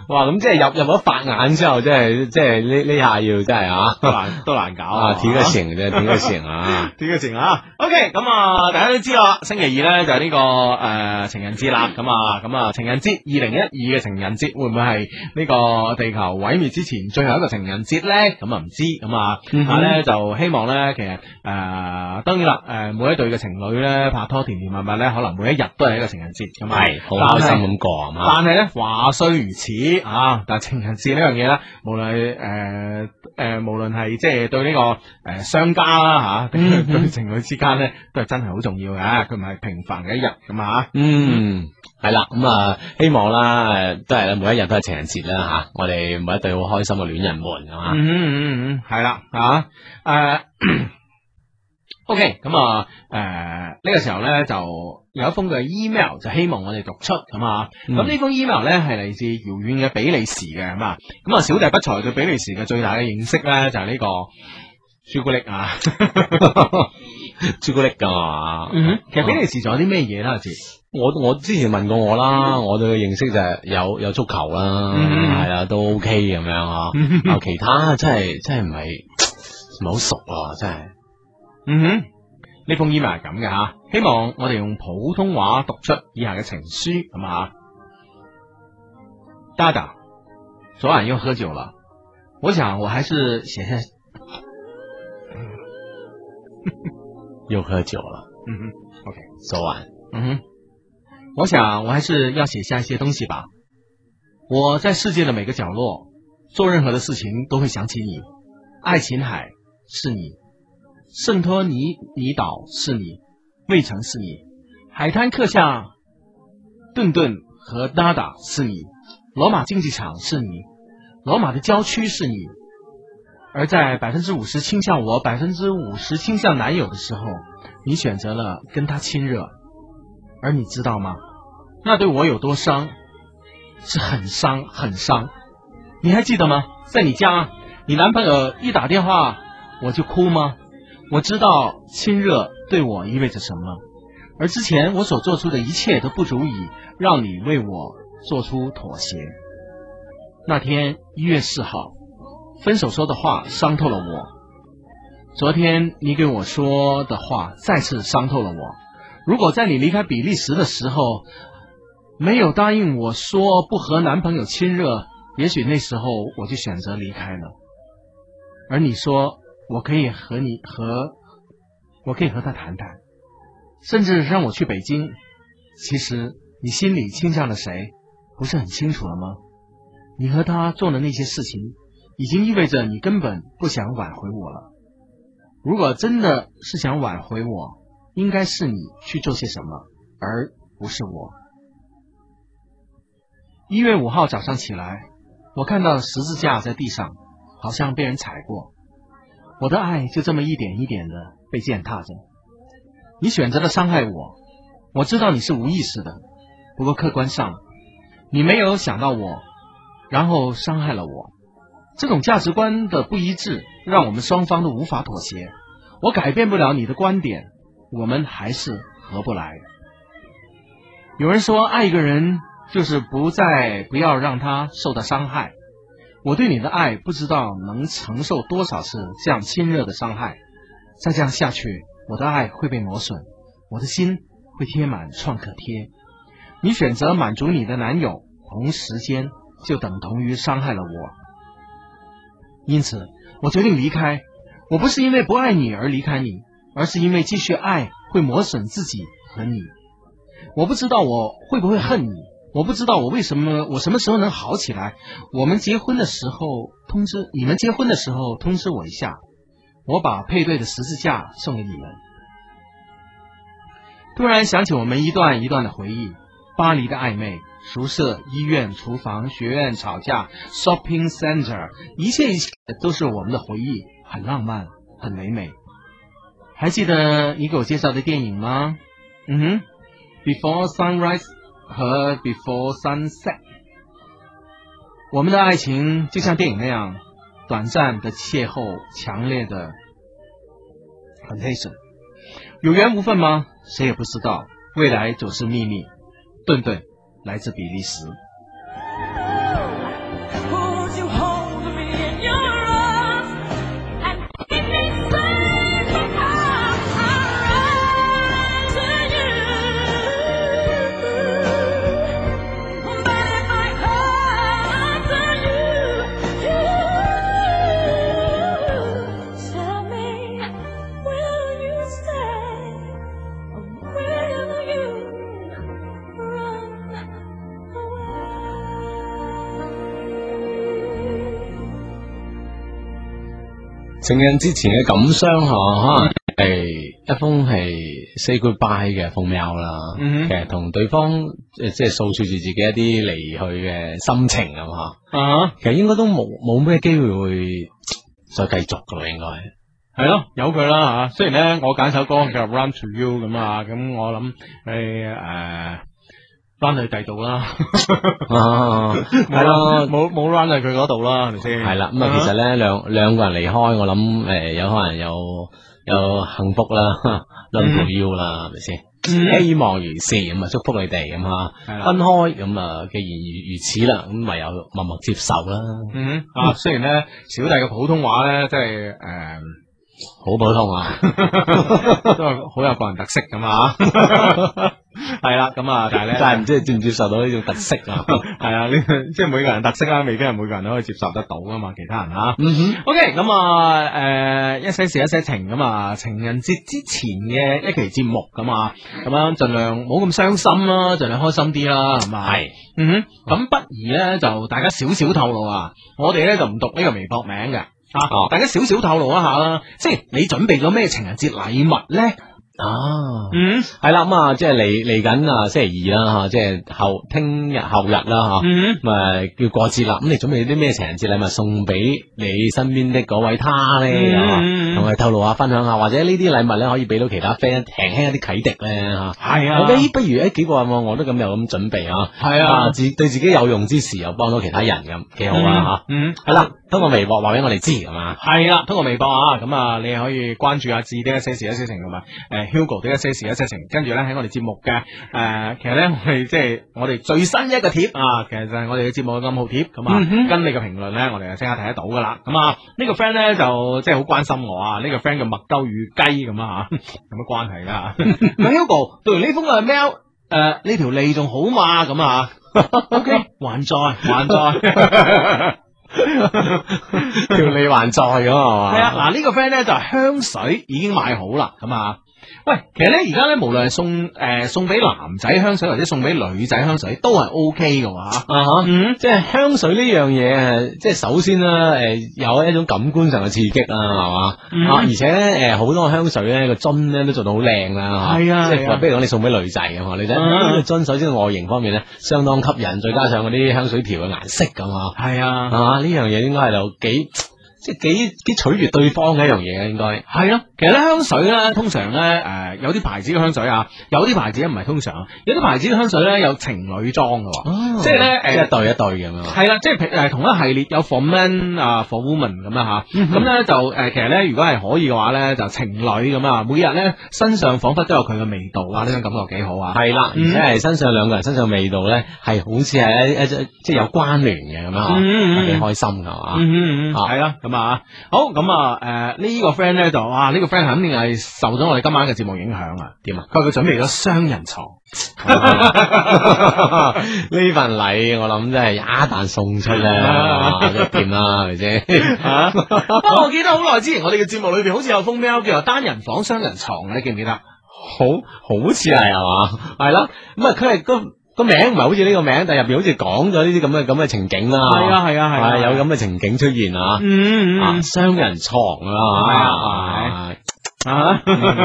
哇，咁即係入入咗法眼之後，即係即係呢呢下要真係啊， 都難都難搞啊，舔個情啫，舔個情啊， 舔個情啊。OK，咁啊，大家都知道啦，星期二咧就係呢個誒情人節啦。咁啊，咁啊，情人節二零一二嘅情人節會唔會係呢個地球毀滅之前最後一個情人節咧？咁啊唔知。咁啊，但係咧就希望咧，其實誒當然啦，誒每一對嘅情侶咧拍拖甜甜蜜蜜咧，可能每一日都係一個情人節咁啊， 係好開心咁過啊嘛。 但係咧話雖如此啊，但係情人節呢樣嘢咧，無論誒誒無論係即係對呢個誒商家啦吓，對情侶之間咧都係真係好重要嘅，佢唔係平凡嘅一日咁啊。 嗯，係啦，咁啊希望啦，誒都係啦，每一日都係情人節啦吓，我哋每一對好開心嘅戀人們係嘛。 嗯嗯嗯，係啦啊誒。OK，咁啊，誒、呃、呢、這個時候咧就有一封嘅 email 就希望我哋讀出咁啊，咁呢、嗯、封 email 咧係嚟自遙遠嘅比利時嘅咁啊，咁啊小弟不才對比利時嘅最大嘅認識咧就係、是、呢個朱古力啊，朱古力噶嘛，嗯哼，其實比利時仲有啲咩嘢啦？阿志， 我我之前問過我啦，我對佢認識就係有有足球啦，係啊、嗯，都 OK 咁樣啊，啊其他真係真係唔係唔係好熟啊，真係。 嗯哼，呢封 email 係咁嘅吓，希望我哋用普通話讀出以下嘅情書咁啊。大大，昨晚又喝酒了，我想我還是寫下。 又喝酒了， 嗯哼 ，OK， 昨晚， 嗯哼，我想我還是要寫下一些東西吧。我在世界的每個角落做任何的事情都會想起你，愛琴海是你。聖托尼尼島是你，衛城是你，海灘刻下頓頓和達達是你，羅馬競技場是你，羅馬的郊區是你。而在百分之五十傾向我，百分之五十傾向男友的時候，你選擇了跟他親熱，而你知道嗎？那對我有多傷？是很傷，很傷。你還記得嗎？在你家，你男朋友一打電話，我就哭嗎？我知道親熱對我意味着什麼，而之前我所做出的一切都不足以讓你為我做出妥協。那天一月四號，分手說的話傷透了我。昨天你給我說的話再次傷透了我。如果在你離開比利時的時候，沒有答應我說不和男朋友親熱，也許那時候我就選擇離開了。而你說，我可以和你和，我可以和他談談，甚至讓我去北京。其實你心裏傾向了誰，不是很清楚了嗎？你和他做的那些事情，已經意味着你根本不想挽回我了。如果真的是想挽回我，應該是你去做些什麼，而不是我。一月五號早上起來，我看到十字架在地上，好像被人踩過。我的愛就這麼一點一點的被踐踏着。你選擇了傷害我，我知道你是無意識的，不過客觀上，你沒有想到我，然後傷害了我。這種價值觀的不一致，讓我們雙方都無法妥協。我改變不了你的觀點，我們還是合不來。有人說，愛一個人就是不再不要讓他受到傷害。我對你的愛不知道能承受多少次這樣親熱的傷害，再這樣下去，我的愛會被磨損，我的心會貼滿創可貼。你選擇滿足你的男友，同時間就等同於傷害了我。因此，我決定離開。我不是因為不愛你而離開你，而是因為繼續愛會磨損自己和你。我不知道我會不會恨你。我不知道我為什麼我什麼時候能好起來。我們結婚的時候通知你們結婚的時候通知我一下，我把配對的十字架送給你們。突然想起我們一段一段的回憶，巴黎的曖昧，宿舍、醫院、廚房、學院、吵架、shopping center， 一切一切都是我們的回憶，很浪漫，很唯美。還記得你給我介紹的電影嗎？嗯哼 Before Sunrise和 Before Sunset。 我們的愛情就像電影那樣，短暫的邂逅，強烈的 temptation。 有緣無分嗎？誰也不知道，未來總是秘密。頓頓來自比利時。 情人節前嘅感傷吓，可能係一封係 say goodbye 嘅封 mail 啦。 嗯哼其實同對方誒即係訴說住自己一啲離去嘅心情啊嘛。 啊， 其實應該都冇冇咩機會會再繼續噶咯，應該。 係咯，由佢啦吓。雖然咧，我揀首歌叫 Run to You 咁啊，咁我諗你誒 run 去第度啦， 啊，係咯， 冇冇 run 去佢嗰度啦，係咪先？ 係啦。咁啊，其實咧兩兩個人離開，我諗誒有可能有有幸福啦，Run to You 啦，係咪先？希望如是，咁啊祝福你哋咁吓，分開咁啊，既然如如此啦，咁唯有默默接受啦。 嗯啊，雖然咧小弟嘅普通話咧，即係誒。 好普通啊， 都係好有個人特色咁啊，係啦，咁啊，但係咧， 但係唔知你接唔接受到呢種特色啊？ 係啊，呢即係每個人特色啦，未必係每個人都可以接受得到噶嘛，其他人啊。 嗯哼 OK，咁啊，誒，一些事一些情咁啊，情人節之前嘅一期節目咁啊，咁樣盡量冇咁傷心啦，盡量開心啲啦，係嘛？ 係， 嗯哼，咁不如咧就大家少少透露啊，我哋咧就唔讀呢個微博名嘅。啊！ 哦大家少少透露一下啦，即係你準備咗咩情人節禮物咧？ 啊， 嗯， 係啦，咁啊，即係嚟嚟緊啊，星期二啦吓，即係後聽日後日啦吓， 嗯， 咁啊叫過節啦，咁你準備啲咩情人節禮物送俾你身邊的嗰位他咧？ 嗯， 同佢透露下，分享下，或者呢啲禮物咧可以俾到其他 friend 輕輕一啲啟迪咧吓。 係啊， 我哋不如誒幾個啊，我都咁有咁準備啊， 係啊， 自對自己有用之時又幫到其他人咁，幾好啊吓。 嗯， 係啦，通過微博話俾我哋知係嘛。 係啦，通過微博啊，咁啊，你可以關注阿志的一些事一些情同埋誒 Hugo 的一些事一些情，跟住咧喺我哋節目嘅誒、呃，其實咧我哋即係我哋最新一個貼啊，其實就係我哋嘅節目嘅暗號貼，咁啊， 嗯、 跟你嘅評論咧，我哋就即刻睇得到噶啦。咁啊，呢、這個 friend 咧就即係好關心我啊，呢、這個 friend 叫麥兜與雞咁啊吓，有乜關係啦？咁 Hugo 讀完呢封嘅 mail，誒呢條脷仲好嘛？咁啊 ，OK，還在還在。 條脷還在咁係嘛？ 係啊，嗱、這、呢個 friend 咧就係香水已經買好啦，咁啊，喂，其實咧而家咧無論係送誒、呃、送俾男仔香水或者送俾女仔香水都係 O K 嘅喎，啊哈，嗯，即係香水呢樣嘢，即係首先啦，誒有一種感官上嘅刺激啦，係嘛，啊，而且咧誒好多香水咧個樽咧都做到好靚啦， 係啊， 即係話比如講你送俾女仔嘅嘛，女仔呢個樽首先外形方面咧相當吸引，再加上嗰啲香水條嘅顏色咁啊， 係啊， 啊呢樣嘢應該係有幾。即係幾幾取悅對方嘅一樣嘢嘅，應該係咯。其實咧香水咧，通常咧誒、呃、有啲牌子嘅香水啊，有啲牌子唔係通常，有啲牌子嘅香水咧有情侶裝嘅， 哦、 即係咧誒一對一對咁樣。 係啦，即係誒同一系列有 for men 啊 for women 咁啦吓，咁咧、嗯、就誒、呃、其實咧如果係可以嘅話咧，就情侶咁啊，每日咧身上彷彿都有佢嘅味道啊，呢種感覺幾好啊。係啦， 而且係身上兩個人身上味道咧係好似係一一即係有關聯嘅咁樣啊，幾、嗯、開心㗎嘛。 嗯嗯嗯，係啦，咁啊好。咁啊，誒、呃，呢、這個 friend 咧就哇，呢、這個 friend 肯定係受咗我哋今晚嘅節目影響啊？點啊？佢話佢準備咗雙人床， 呢份禮我諗真係一旦送出咧，就掂啦，係咪先？ 啊！我記得好耐之前，我哋嘅節目裏邊好似有封 mail 叫做單人房雙人床，你記唔記得？ 好，好似係係嘛？係啦，咁啊，佢係個。個名唔係好似呢個名，但係入邊好似講咗呢啲咁嘅咁嘅情景啦。 係啊係啊係啊， 有咁嘅情景出現啊。 嗯啊，雙人床啊。係啊。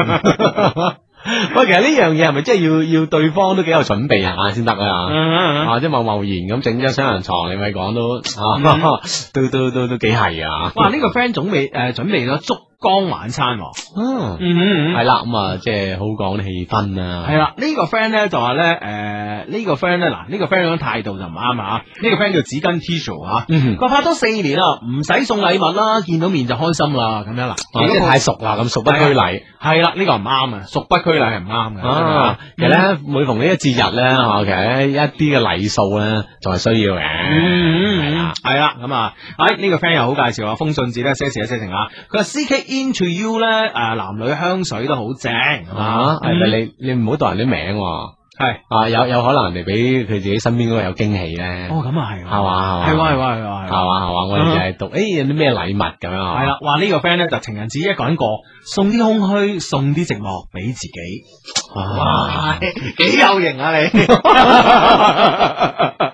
喂，其實呢樣嘢係咪真係要要對方都幾有準備下先得啊？啊，即係貿貿然咁整張雙人床，你咪講都啊，都都都都幾係啊！ 哇，呢個 friend 總備誒準備咗燭光晚餐。 嗯嗯，係啦，咁啊，即係好講啲氣氛啊。 係啦，呢個 friend 咧就話咧，誒，呢個 friend 咧，嗱，呢個 friend 嘅態度就唔啱啊！呢個 friend 叫紙巾 tissue 吓，佢拍咗四年啦，唔使送禮物啦，見到面就開心啦，咁樣啦， 即係太熟啦，咁熟不拘禮。 係啦，呢個唔啱啊，熟不拘禮係唔啱嘅。 啊，其實咧，每逢呢一節日咧，吓，其實一啲嘅禮數咧，仲係需要嘅。 嗯，係啦，係啦，咁啊，誒，呢個 friend 又好介紹啊，封信紙咧，寫詞一寫成啊，佢話 C K Into You 咧，誒，男女香水都好正， 啊，係咪你你唔好讀人啲名，係啊，有有可能人哋俾佢自己身邊嗰個有驚喜咧。 哦，咁啊係， 係嘛， 係嘛，係嘛，係嘛， 係嘛，係嘛，我哋就係讀，誒，有啲咩禮物咁樣啊？ 係啦，話呢個 friend 咧就情人節一個人過，送啲空虛，送啲寂寞俾自己。哇，幾有型啊你！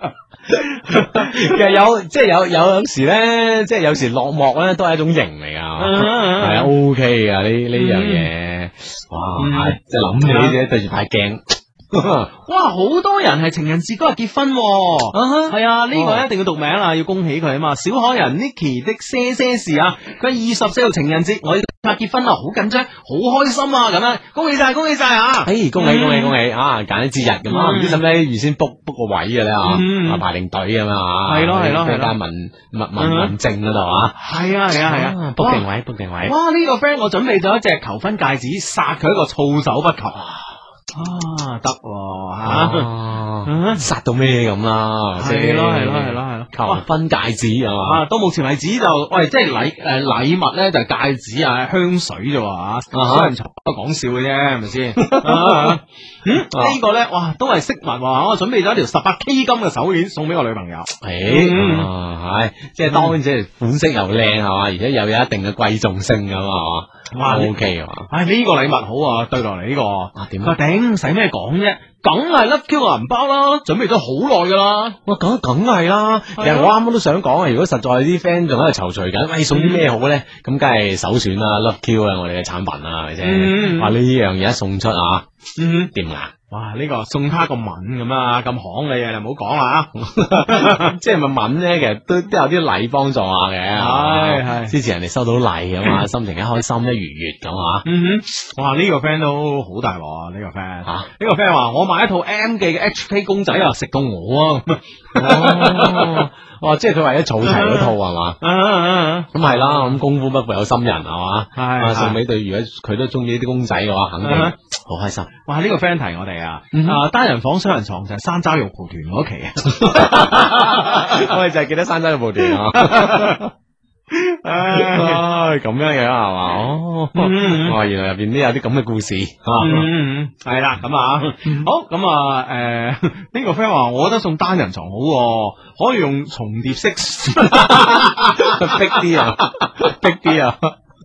其實有即係有有有時咧，即係有時落寞咧，都係一種型嚟噶，係啊 OK 噶呢呢樣嘢，哇！即係諗起啫，對住塊鏡。 哇！好多人係情人節嗰日結婚喎，係啊，呢個一定要讀名啊，要恭喜佢啊嘛！小可人 Nicky 的些些事啊，佢二十四號情人節，我要拍結婚啦，好緊張，好開心啊！咁樣，恭喜晒，恭喜晒啊！ 誒，恭喜恭喜恭喜啊！揀啲節日咁啊，唔知使唔使預先 book book 個位嘅咧啊？排定隊咁啊？ 係咯係咯係咯， 間民民民民證嗰度啊？ 係啊係啊係啊 ，book 定位 book 定位。 哇！呢個 friend 我準備咗一隻求婚戒指，殺佢一個措手不及。啊，得吓， 殺到咩咁啦？ 係咯係咯係咯係咯， 求婚戒指係嘛？ 啊，到目前為止就，喂，即係禮誒禮物咧就係戒指啊、香水啫喎，小人財都講笑嘅啫，係咪先？嗯，呢個咧，哇，都係飾物喎，我準備咗一條十八 K 金嘅手鏈送俾我女朋友。 誒，係，即係當然即係款式又靚係嘛，而且又有一定嘅貴重性咁啊，哇 ，OK 啊， 唉，呢個禮物好啊，對落嚟呢個， 啊點啊頂，使咩講啫？梗係 Love Q 個銀包啦，準備咗好耐噶啦。 哇，梗梗係啦。其實我啱啱都想講啊，如果實在啲 friend 仲喺度躊躇緊，喂，送啲咩好咧？咁梗係首選啦 ，Love Q 啊，我哋嘅產品啊，係咪先？話呢樣嘢一送出啊，掂啊！ 哇！呢個送他個吻咁啊，咁行你啊，你唔好講啦， 即係咪吻咧？其實都都有啲禮幫助下嘅， 係係支持人哋收到禮咁啊，心情一開心一愉悅咁啊。 嗯哼，哇！呢個 friend 都好大鑊啊！呢個 friend 啊，呢個 friend 話我買一套 M 記嘅 H K 公仔啊，食到我啊！ 哇！即係佢為咗儲齊嗰套係嘛？咁係啦，咁功夫不負有心人係嘛？係送俾對，如果佢都中意呢啲公仔嘅話，肯定好開心。 哇！呢個 friend 提我哋啊，啊單人房雙人床就係山楂肉蒲團嗰期啊， 我哋就係記得山楂肉蒲團啊。唉，咁樣樣係嘛？哦，哇！原來入邊都有啲咁嘅故事啊。 係啦，咁啊，好咁啊，誒，呢個 friend 話，我覺得送單人床好，可以用重疊式， 逼啲啊，逼啲啊，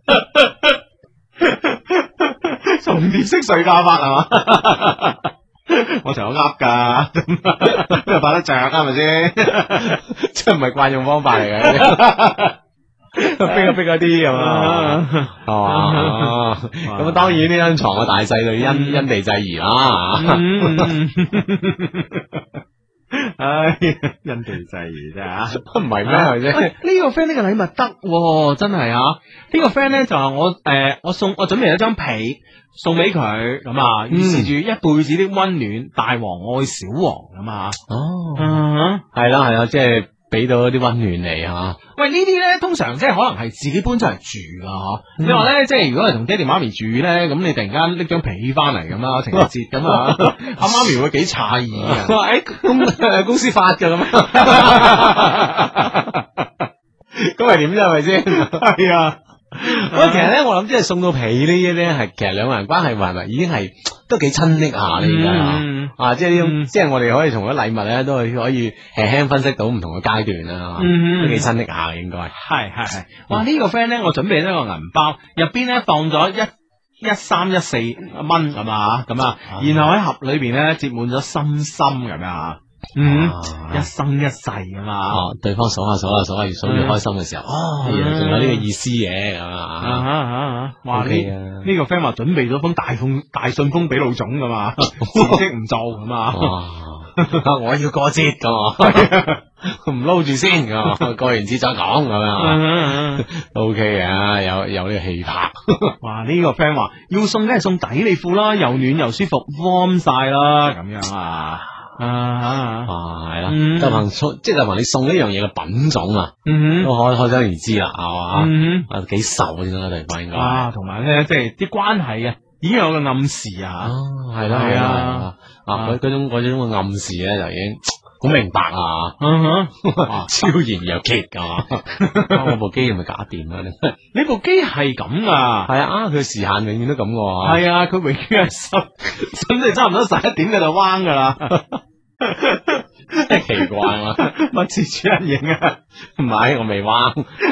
重疊式睡覺法係嘛？我成日噏噶，邊度擺得着啊？係咪先？ 即係唔係慣用方法嚟嘅。逼一逼嗰啲咁啊，係嘛？咁當然呢張床嘅大細就因因地制宜啦。 唉，因地制宜啫吓， 唔係咩係啫？ 呢個 friend 呢個禮物得，真係啊！呢個 friend 咧就話我誒，我送我準備咗張被送俾佢，咁啊，預示住一輩子的溫暖，大王愛小王咁啊。 哦，係啦係啦，即係。俾到啲溫暖嚟吓， 喂呢啲咧通常即係可能係自己搬出嚟住噶嗬。你話咧即係如果係同爹哋媽咪住咧，咁你突然間拎張被翻嚟咁啦，情人節咁啊，阿媽咪會幾詫異嘅。 誒公公司發嘅咁，咁係點啫？係咪先？ 係啊。 喂，其實咧，我諗即係送到被呢啲咧，係其實兩個人關係係咪已經係都幾親昵下呢？而家啊，即係呢種，即係我哋可以從嗰禮物咧，都係可以輕輕分析到唔同嘅階段啦，都幾親昵下應該。 係係係，哇！呢個 friend 咧，我準備咗個銀包，入邊咧放咗一一三一四蚊咁啊，咁啊，然後喺盒裏邊咧接滿咗心心咁啊。嗯，一生一世噶嘛， 哦，對方數下數下數下越數越開心嘅時候，哦，原來仲有呢個意思嘅，咁啊， 哇，呢呢個 friend 話準備咗封大封大信封俾老總噶嘛，辭職唔做咁啊， 我要過節噶，唔撈住先，過完節再講咁樣，O K 嘅，有有呢個氣魄， 哇，呢個 friend 話要送梗係送底里褲啦，又暖又舒服，warm 晒啦，咁樣啊。啊啊係啦，就憑送即係就憑你送呢樣嘢嘅品種啊，都可可想而知啦，係嘛，啊幾受先啦，對方應該啊，同埋咧即係啲關係啊，已經有個暗示啊， 係啦係啊，啊嗰嗰種嗰種嘅暗示咧就已經好明白啊，超然若揭噶，我部機係咪假電啊？ 你部機係咁噶， 係啊，佢時限永遠都咁噶， 係啊，佢永遠係十，咁你差唔多十一點佢就彎噶啦。 奇怪啊！ 乜次主人影啊？ 唔係，我未彎。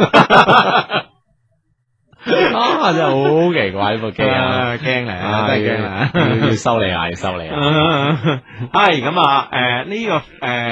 啊，真係好奇怪呢部機啊！ 驚嚟啊，真係驚啊！ 要要修理下，要修理下。 係咁啊！誒，呢個誒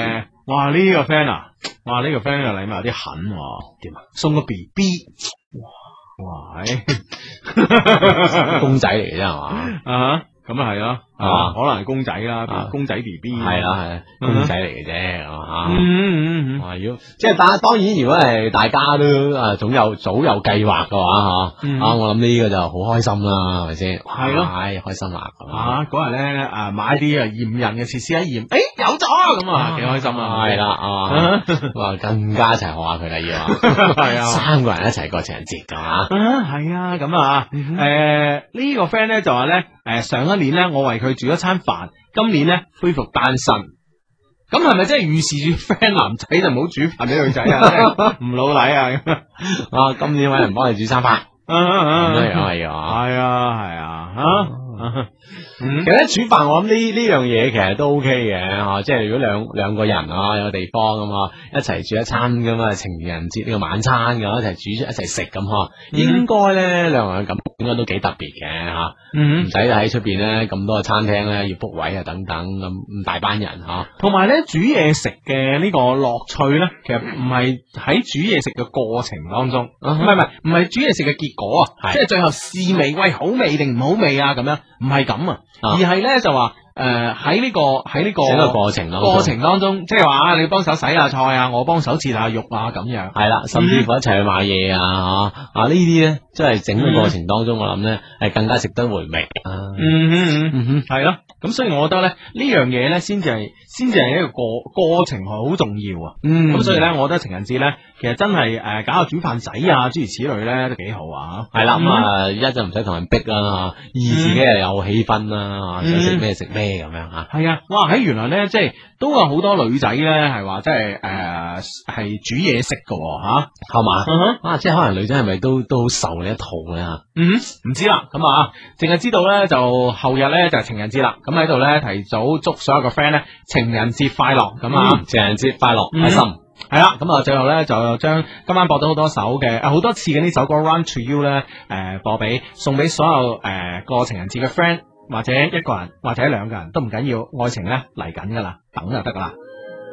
哇呢、個 friend 啊，哇呢、個 friend 嘅禮物有啲狠喎，點啊？送個 B B， 哇，哇， 公仔嚟嘅啫係嘛？ 啊，咁啊係咯， 啊可能係公仔啦， 啊公仔 B B， 係啦係啦，公仔嚟嘅啫，係嘛？ 嗯嗯嗯哇！如果即係當當然，如果係大家都啊總有早有計劃嘅話，吓嗯啊，我諗呢個就好開心啦，係咪先？ 係咯唉，開心啦咁啊！嗰日咧啊買啲啊驗孕嘅設施一驗，誒有咗咁啊，幾開心啊！ 係啦啊，哇，更加一齊學下佢啦要， 係啊三個人一齊過情人節㗎嘛， 啊，係啊，咁啊，誒呢個 friend 咧就話咧，誒上一年咧我為佢煮咗餐飯，今年咧恢復單身，咁係咪即係預示住 friend 男仔就唔好煮飯俾女仔啊？唔老禮啊？ 啊，今年揾人幫你煮餐飯，咁樣樣係啊。 係啊係啊吓，嗯其實咧煮飯，我諗呢呢樣嘢其實都 OK 嘅吓，即係如果兩兩個人啊有個地方咁啊，一齊煮一餐咁啊，情人節呢個晚餐嘅一齊煮一齊食咁嗬，應該咧兩個人咁應該都幾特別嘅吓， 嗯唔使喺出邊咧咁多嘅餐廳咧要 book 位啊等等咁咁大班人吓， 同埋咧煮嘢食嘅呢個樂趣咧，其實唔係喺煮嘢食嘅過程當中，唔係唔係唔係煮嘢食嘅結果啊， 係即係最後試味，喂好味定唔好味啊咁樣，唔係咁啊，而係咧就話誒喺呢個喺呢個整個過程當中過程當中，即係話你幫手洗下菜啊，我幫手切下肉啊咁樣， 係啦，甚至乎一齊去買嘢啊吓啊呢啲咧，即係整個過程當中，我諗咧係更加值得回味啊。 嗯嗯嗯嗯哼， 係咯，咁所以我覺得咧呢樣嘢咧先至係先至係一個過過程係好重要啊。 嗯咁所以咧，我覺得情人節咧，其實真係誒搞下煮飯仔啊，諸如此類咧，都幾好啊。 係啦，咁啊一就唔使同人逼啦，二自己又有氣氛啦，想食咩食咩咁樣吓。 係啊，哇！喺原來咧，即係都有好多女仔咧，係話即係誒係煮嘢食嘅吓， 係嘛？ 嗯哼啊，即係可能女仔係咪都都好受呢一套咧吓？ 嗯，唔知啦，咁啊，淨係知道咧就後日咧就係情人節啦，咁喺度咧提早祝所有嘅 friend 咧情人節快樂，咁啊。 情人節快樂， 嗯開心。 係啦，咁啊，最後咧就將今晚播咗好多首嘅，啊好多次嘅呢首歌《Run to You》咧，誒播俾送俾所有誒過情人節嘅 friend，或者一個人或者兩個人都唔緊要，愛情咧嚟緊噶啦，等就得噶啦。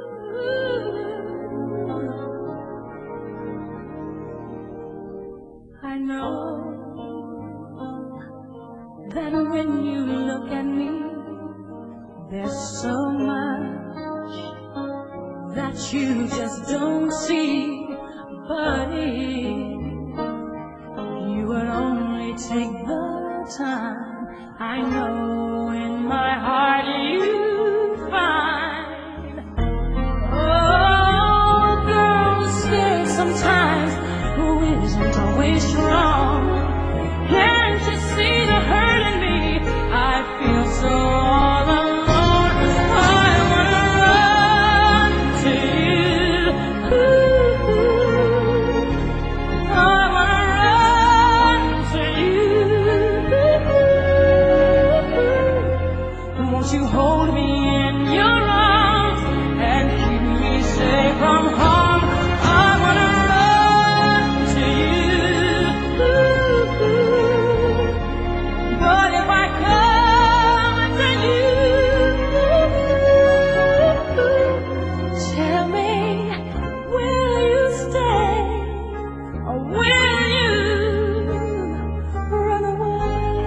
I know that when you look at me, there's so much that you just don't see. But if you would only take the time, I know in my heart you find. Oh, girls say sometimes who isn't always strong. Can't you see the hurt in me? I feel so all alone. I wanna run to you. Ooh, I wanna run to you. Won't you hold me in your arms and keep me safe from harm? I wanna run to you. But if I come to you, tell me, will you stay or will you run away?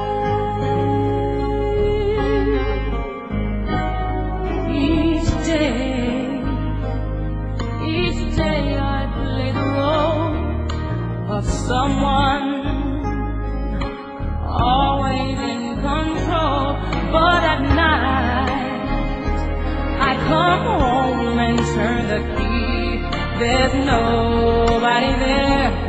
Each day, each day I play the role of someone always in control, but at night I come home and turn the key. There's nobody there